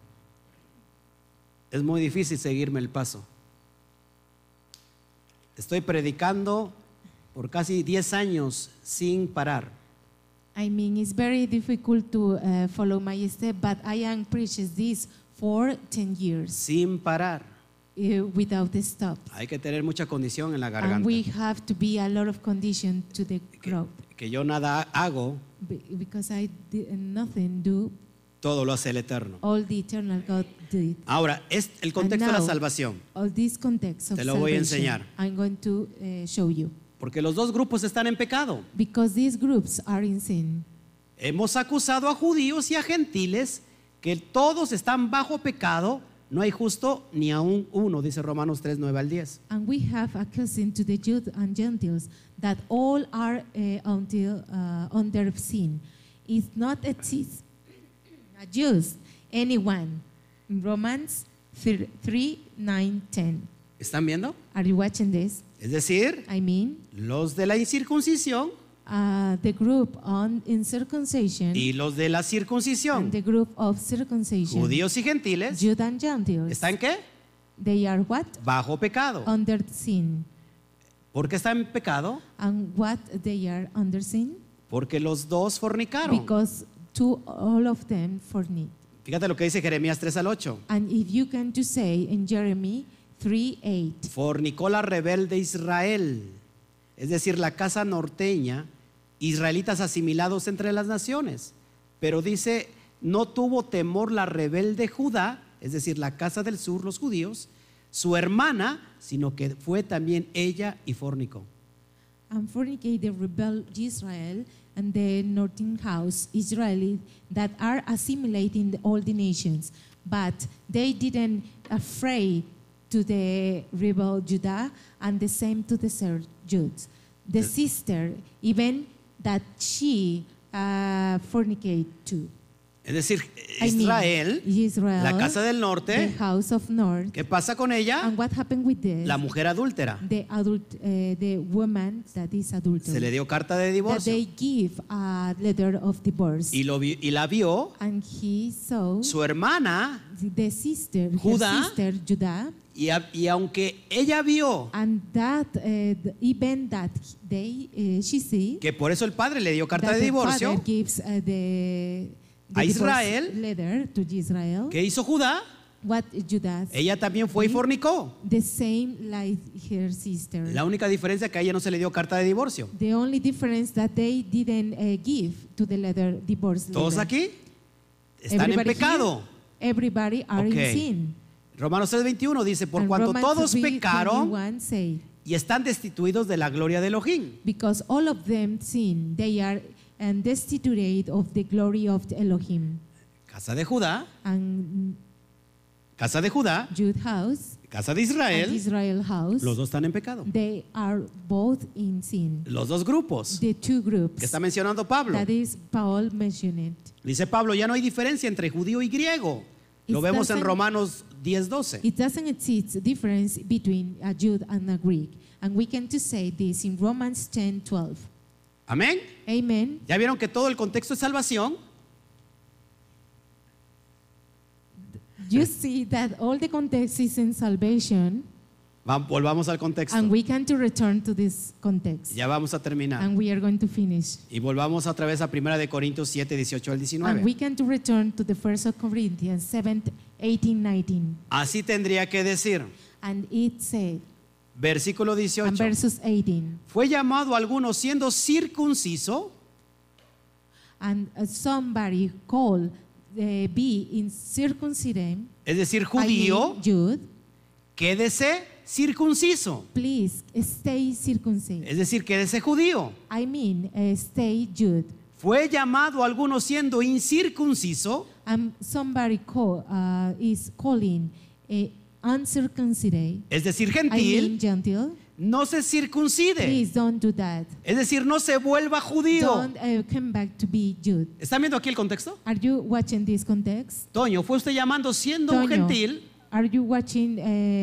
Es muy difícil seguirme el paso. Estoy predicando por casi 10 años sin parar. I mean, it's very difficult to follow my step, but I am preaching this for 10 years Sin parar. Without a stop. Hay que tener mucha condición en la And garganta. we have to be a lot of condition to the crowd. Que yo nada hago, Because I did nothing do, todo lo hace el Eterno. all the eternal God did. Ahora, es el contexto de la now, salvación. All this context of Te lo voy a salvation, enseñar. I'm going to show you. Porque los dos grupos están en pecado. Because these groups are in sin. Hemos acusado a judíos y a gentiles que todos están bajo pecado. No hay justo ni aún uno, dice Romanos 3, 9 al 10. And we have accusing to the Jews and Gentiles that all are under sin. Is not exist a Jews, anyone. In Romans 3, 9, 10. ¿Están viendo? Are you watching this? Es decir, I mean, los de la incircuncisión the group in circumcision y los de la and circuncisión, the group of circumcision, judíos y gentiles, Jews and Gentiles, ¿están qué? they are what? Bajo pecado. Under sin. ¿Por qué están en pecado? And what they are under sin? Porque los dos fornicaron. Because all of them fornicate. Fíjate lo que dice Jeremías 3 al 8. And if you can to say in Jeremy 3:8, Fornicó la rebelde Israel, es decir, la casa norteña, israelitas asimilados entre las naciones. Pero dice, no tuvo temor la rebelde Judá, es decir, la casa del sur, los judíos, su hermana, sino que fue también ella y fornicó. And fornicate the rebel Israel and the northern house Israeli that are assimilating all the nations, but they didn't afraid to the rebel Judah and the same to the third Jude. The sister, even that she fornicate too. Es decir, I mean, Israel, Israel, la casa del the norte, house of north. ¿qué pasa con ella? And what happened with this? La mujer adúltera. The woman that is adultery. Se le dio carta de That divorcio they give a letter of divorce. y la vio And he saw su hermana, the sister, Judá, her sister Judah, y aunque ella vio and that even that she see que por eso el padre le dio carta that de the divorcio, father gives the a divorce Israel, letter to Israel. ¿qué hizo Judá? What Judah? Ella también fue y fornicó. The same like her sister. La única diferencia es que a ella no se le dio carta de divorcio. The only difference that they didn't give to the letter divorce letter. ¿Todos aquí? Están en Everybody pecado. here, everybody are Ok. in sin. Romanos 3:21 dice, por And cuanto Romans todos 3:21 pecaron say, y están destituidos de la gloria de Elohim. because all of them sin, they are destitute of the glory of the Elohim. Casa de Judá, And casa de Judá, Jude house casa de and Israel, Israel house, los dos están en pecado. they are both in sin. Los dos grupos The two que groups está mencionando Pablo. that is Paul mentioned. Dice Pablo, ya no hay diferencia entre judío y griego. Lo It vemos en doesn't- Romanos 10:12. It doesn't exist difference between a Jew and a Greek. And we can to say this in Romans 10:12. Amén. Amen. ¿Ya vieron que todo el contexto es salvación? You see that all the context is in salvation, Volvamos al contexto. and we can to return to this context. Ya vamos a terminar. And we are going to finish. Y volvamos otra vez a 1 de Corintios 7, 18 al And 19. we can to return to the 1st of Corinthians 7, 18, 19. Así tendría que decir, And it said, versículo and 18, verses 18, fue llamado alguno siendo circunciso, and somebody called be in circumcision, es decir, I judío, mean, Jude, quédese circunciso. please stay circumcised. Es decir, quédese judío. I mean, stay Jude. Fue llamado alguno siendo incircunciso, And somebody is calling uncircumcised. es decir, I mean, gentil, gentle. no se circuncide. Please don't do that. Es decir, no se vuelva judío. Don't come back to be Jude. ¿Están viendo aquí el contexto? Are you watching this context? Toño, fue usted llamando siendo un Toño, gentil, are you watching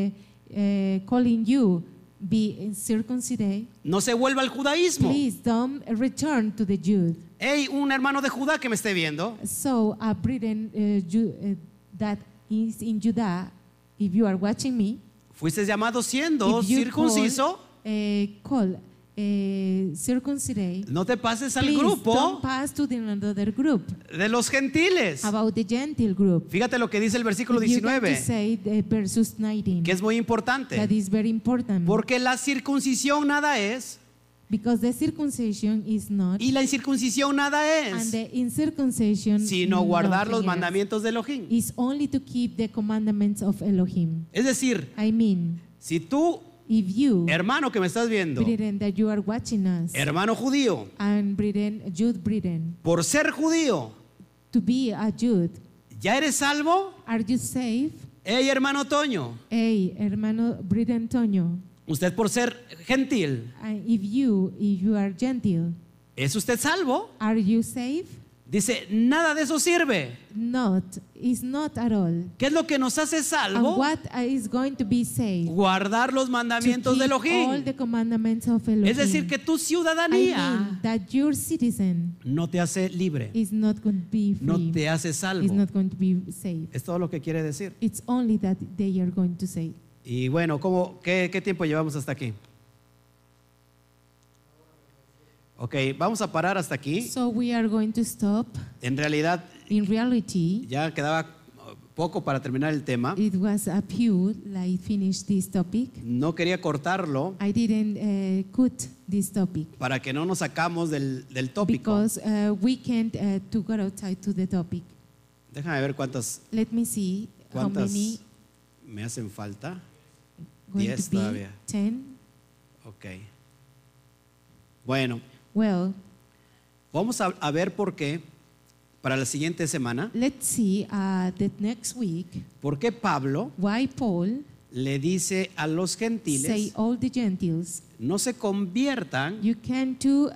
calling you be circumcised? no se vuelva al judaísmo. Please don't return to the Jude. Hey, un hermano de Judá que me esté viendo, So a Britain that is in Judah, if you are watching me, fuiste llamado siendo if you circunciso, call circumcised, no te pases al please grupo don't pass to the another group de los gentiles. about the Gentile group. Fíjate lo que dice el versículo If you can to 19, say the versus 19, que es muy that importante, is very important, porque la circuncisión nada es because the circumcision is not, y la incircuncisión nada and es, the incircumcision sino guardar los nothing else. mandamientos de Elohim. Is only to keep the commandments of Elohim. Es decir, I mean, si tú, if you, hermano que me estás viendo, Britain, that you are watching us, hermano judío, and Britain, Jude Britain, por ser judío, to be a Jude, ¿ya eres salvo? are you safe? Hey, hermano Toño, Hey, hermano Britain Toño, usted por ser gentil, if you are Gentile, ¿es usted salvo? are you safe? Dice, nada de eso sirve. Not, is not at all. ¿Qué es lo que nos hace And salvo? what is going to be saved? Guardar los To mandamientos de keep all Elohim. the commandments of Elohim. Es decir, que tu I ciudadanía mean that your citizen no te hace libre, is not going to be free, no te hace is salvo. not going to be saved. Es todo lo que quiere decir. It's only that they are going to say. Y bueno, ¿qué tiempo llevamos hasta aquí? Ok, vamos a parar hasta aquí. So we are going to stop. En realidad In reality, ya quedaba poco para terminar el tema. it was a few like finish this topic. No quería cortarlo I didn't cut this topic para que no nos sacamos del tópico. because we can't to go outside to the topic. Déjame ver cuántas Let me see how many. me hacen falta. going 10 to be todavía. 10. Ok. Bueno, Well, vamos a ver por qué para la siguiente semana, let's see the next week por qué Pablo why Paul le dice a los say gentiles, all the Gentiles no se conviertan you can do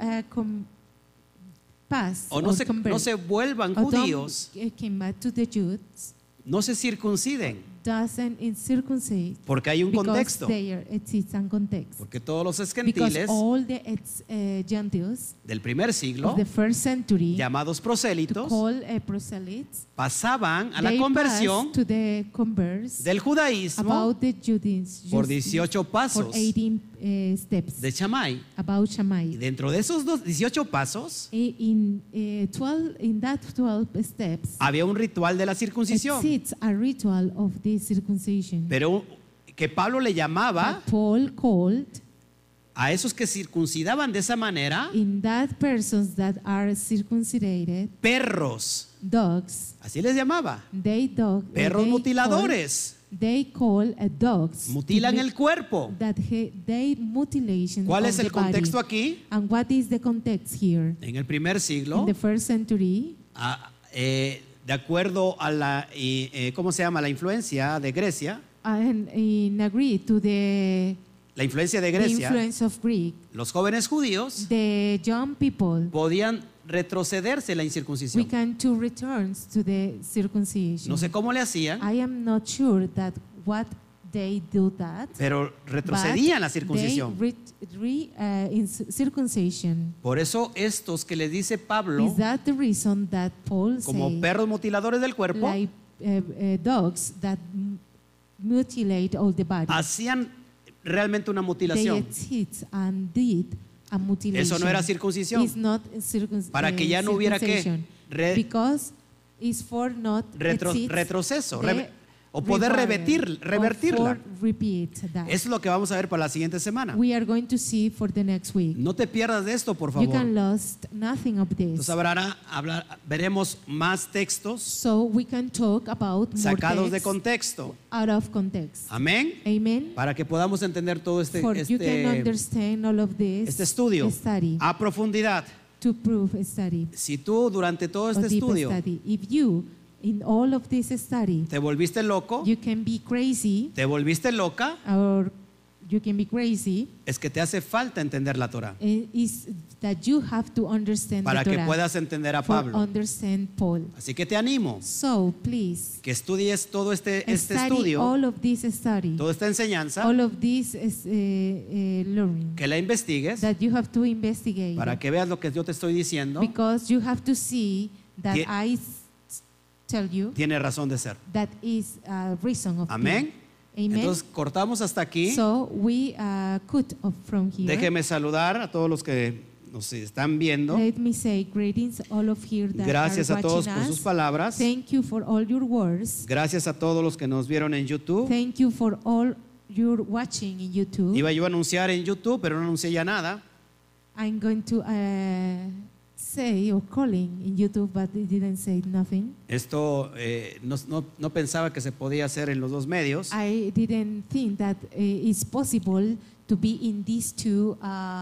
pass o or no convert, se vuelvan or don't judíos, came back to the Jews, no se circunciden, doesn't circumcise porque hay un because contexto, there exists a context. porque todos los Because gentiles all the Gentiles del primer siglo, of the first century llamados to prosélitos, call proselytes, pasaban a la they conversión passed to the converse del judaísmo about the Judaism por 18 for pasos 18 steps de Shammai. about Y Shammai. dentro de esos 18 pasos In that 12 steps había un ritual de la circuncisión, exists a ritual of this circumcision. pero que Pablo le llamaba But Paul called a esos que circuncidaban de esa manera in that persons that are circumcised perros, dogs. así les llamaba, perros They mutiladores, call dogs. mutilan el cuerpo. That they mutilation ¿Cuál of es the el contexto body. aquí? And what is the context here? En el primer siglo, In the first century, de acuerdo a la, ¿cómo se llama? La influencia de Grecia, and in agree to la influencia de the Grecia, influence of Greek, los jóvenes judíos the young people, podían retrocederse la we incircuncisión. can to returns to the circumcision. No sé cómo le hacían, I am not sure that what they do that. pero retrocedían la but circuncisión. in circumcision. Por eso estos que les dice Pablo, Is that the reason that Paul como say perros mutiladores del cuerpo, like dogs that mutilate all the body? hacían realmente una They mutilación exist and did a mutilation. Eso no era circuncisión. It's not Para que ya no hubiera ¿qué? circumcision. Because it's for not exist retroceso the o poder requirement revertirla. or for repeat that. Eso es lo que vamos a ver para la siguiente semana. We are going to see for the next week. No te pierdas de esto, por You can favor. lose nothing of this. Entonces veremos más textos So we can talk about more sacados de texts contexto. out of context. Amén. Amen. Para que podamos entender todo For you can understand all of this este estudio study, a profundidad. to prove study Si tú durante todo or este deep estudio study. If you in all of this study te volviste loco, you can be crazy te volviste loca, or you can be crazy, es que te hace falta entender la Torah is that you have to understand para the que Torah puedas entender a for Pablo. understand Paul. Así que te animo So please que estudies todo este study estudio, all of this study, toda esta enseñanza, all of this learning que la investigues that you have to investigate para que veas lo que yo te estoy diciendo. because you have to see that Tie- I tell you Tiene razón de ser. that is a reason of Amén. being. Amen. Entonces cortamos hasta aquí. So we cut off from here. Déjeme saludar a todos los que nos están viendo. Let me say greetings all of here that Gracias are a todos watching por us. sus palabras. Thank you for all your words. Gracias a todos los que nos vieron en YouTube. Thank you for all your watching in YouTube. Iba yo a anunciar en YouTube, pero no anuncié ya nada. I'm going to say or calling in YouTube, but it didn't say nothing. Esto no pensaba que se podía hacer en los dos medios, I didn't think that it's possible to be in these two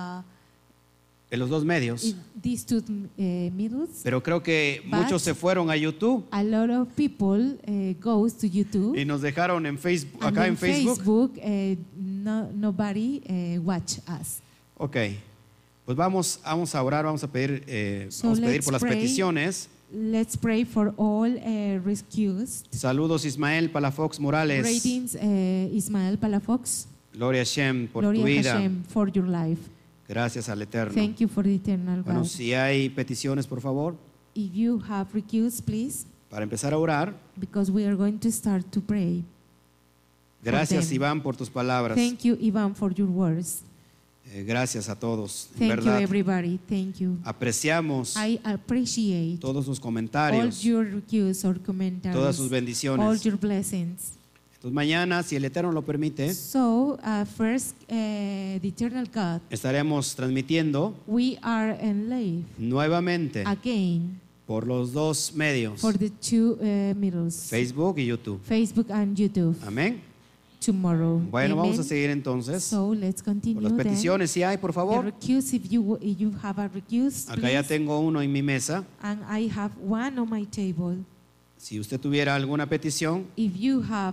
middles. pero creo que But muchos se fueron a YouTube A lot of people goes to YouTube. y nos dejaron en Facebook, And acá in en Facebook. Nobody watch us. Ok, pues vamos a orar, vamos a pedir, So vamos a pedir let's por las pray. peticiones. Let's pray for all rescues. Saludos Ismael Palafox Morales. Greetings, Ismael Palafox. Gloria a Hashem por tu Gloria vida. Hashem for your life. Gracias al Eterno. Thank you for the eternal Bueno, God. si hay peticiones, por favor, If you have requests, please, para empezar a orar. because we are going to start to pray. Gracias, them. Iván, por tus palabras. Thank you, Ivan, for your words. Gracias a todos. En Thank you, verdad, everybody. Thank you. apreciamos I appreciate todos sus all comentarios, your requests or commentaries, todas sus all bendiciones. your blessings. Entonces, mañana, si el Eterno lo permite, So, first, the eternal God, estaremos transmitiendo we are in live nuevamente again por los dos medios, for the two middles, Facebook y YouTube. Facebook and YouTube. Amén. tomorrow. Bueno, Amen. vamos a seguir entonces So let's continue con las then. peticiones. Si hay, por The favor. recuse, if you have a recuse, Acá ya please. tengo uno en mi mesa. And I have one on my table. Si usted tuviera alguna petición, If you have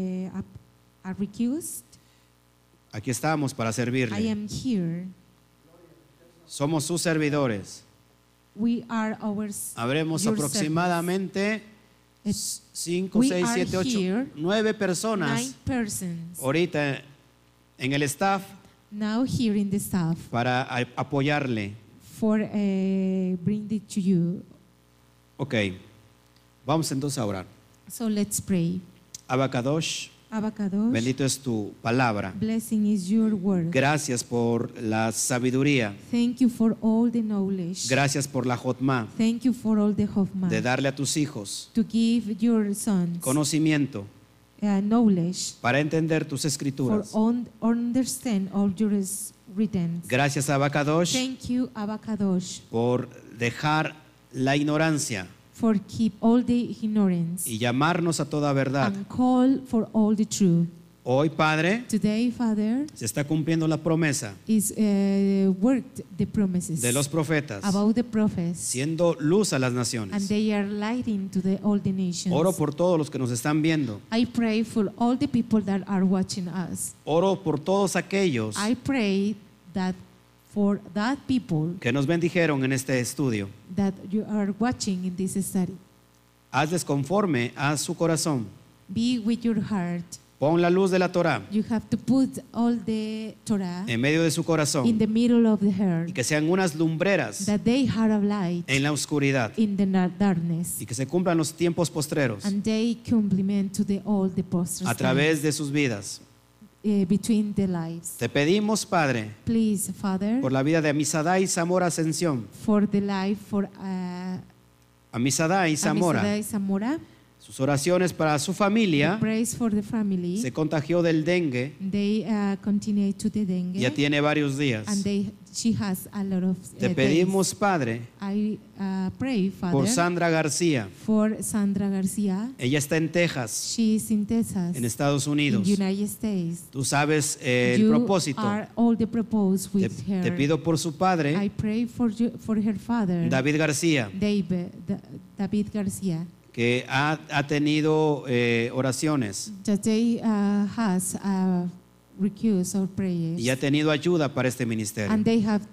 a recuse, aquí estamos para I servirle. am here. Somos sus servidores. We are Habremos your aproximadamente It's- 5, we 6, are 7, 8, here, 9 personas 9 persons ahorita en el staff now here in the staff para apoyarle. for bring it to you. Ok, vamos entonces a orar. So let's pray. Abacadosh, Abacadosh, bendito es tu palabra. blessing is your word. Gracias por la sabiduría. Thank you for all the knowledge. Gracias por la jotma Thank you for all the Hoffman. de darle a tus hijos To give your sons conocimiento knowledge para entender tus for escrituras. understand all your written. Gracias Abacadosh Thank you, Abacadosh, por dejar la ignorancia for keep all the ignorance y llamarnos a toda verdad. and call for all the truth. Hoy, Padre, Today, Father, se está cumpliendo la promesa is worked the promises de los profetas, about the prophets, siendo luz a las and naciones. they are lighting to all the nations. Oro por todos los que nos están viendo. I pray for all the people that are watching us. Oro por todos aquellos I pray that for that people que nos bendijeron en este estudio. that you are watching in this study. Hazles conforme a su corazón. Be with your heart. Pon la luz de la Torah You have to put all the Torah en medio de su in corazón the middle of the y heart, que sean unas lumbreras that they have a light en la oscuridad in the darkness, y que se cumplan los tiempos postreros and they complement to all the posters a través de sus vidas. between the lives. Te pedimos, Padre, Please, Father, por la vida de Amisadai Zamora Ascensión, for the life for Amisadai Zamora, Amisadai Zamora, sus oraciones para su familia. praise for the family. Se contagió del dengue, They continue to the dengue, ya tiene varios días. and she has a lot of Te days. pedimos, Padre, I pray, Father, por Sandra García. for Sandra Garcia. Ella está en Texas, She is in Texas, en Estados in Unidos. United States. Tú sabes el You propósito. are all the proposed Te, with her. te pido por su I padre, pray for her father, David García, David Garcia, que ha tenido oraciones that they has recuse or prayers, y ha tenido ayuda para este ministerio. and they have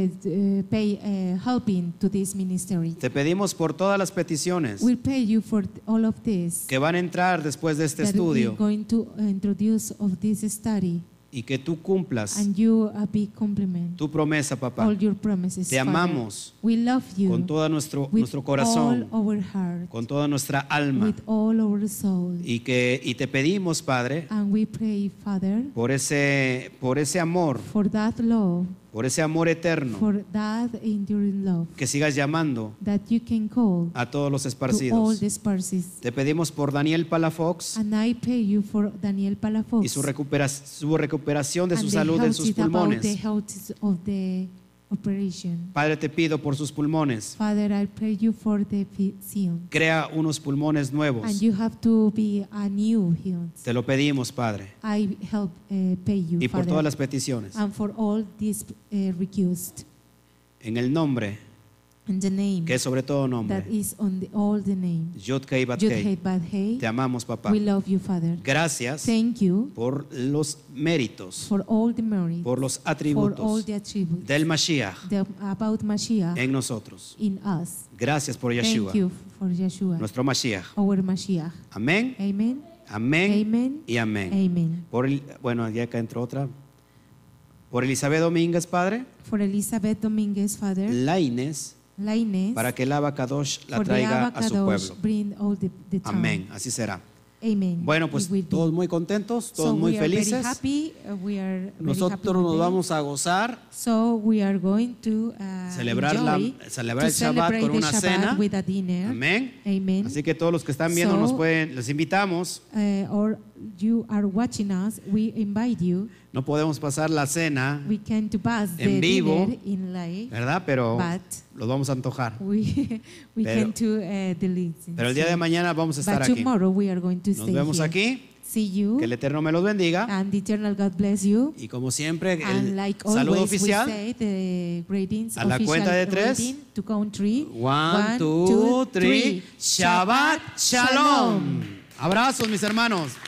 pay helping to this ministry. Te pedimos por todas las peticiones We'll pay you for all of this que van a entrar después de este that we're estudio going to introduce of this study, y que tú cumplas and you be complement tu promesa, papá. all your promises. Te Father. amamos We love you con todo nuestro with corazón, all our heart, con toda nuestra alma. with all our soul. Y te pedimos, Padre, And we pray, Father, por ese amor, for that love, por ese amor eterno, for that enduring love, que sigas llamando that you can call a todos los to all esparcidos. the sparses. Te pedimos por Daniel Palafox And I pray you for Daniel Palafox y su recuperación de and su the salud en health sus about the pulmones. health of the operation. Padre, te pido por sus pulmones. Father, I pray you for the seal. Crea unos pulmones nuevos. And you have to be a new healed. Te lo pedimos, Padre. I help pay you, Y por Father, todas las peticiones. and for all these recused. En el nombre, In the name que es sobre todo that nombre, is on all the name. Yod-Kei Yud Bat-Kei. Hei Bad Hei. Te amamos, papá. We love you, Father. Gracias Thank you por los méritos, for all the merit, por los for all atributos the attributes del Mashiach about Mashiach en nosotros. in us. Gracias por Yeshua, Thank you for Yeshua, nuestro Mashiach. our Mashiach. Amén, Amen. amén Amen. y amén. Amen. Bueno, ya acá entró otra. Por Elizabeth Domínguez, Padre, For Elizabeth Dominguez, Father, la Inés, Lainez, para que el Abacadosh la for the traiga a su Abacadosh, pueblo. bring all the town. Amén, así será. Amen. Bueno, It pues will be. todos muy contentos, todos So muy we are very felices. happy. We are very happy Nosotros nos today. vamos a gozar, So we are going to celebrar celebrar el Shabbat con una cena. with a dinner. Amén. Amen. Así que todos los que están viendo So- les invitamos Or you are watching us, we invite you. No podemos pasar la cena, We can to pass En the vivo, dinner in live, ¿verdad? Pero but los vamos a antojar. we Pero- can to delete. Pero el día de mañana vamos a estar But aquí. tomorrow we are going to Nos stay vemos here. aquí. See you, Que el Eterno me los bendiga. and the eternal God bless you. Y como siempre, And el like saludo always, we oficial. say the greetings A la official cuenta de tres. greeting to country. 1, 2, 3. Shabbat Shalom. Abrazos, mis hermanos.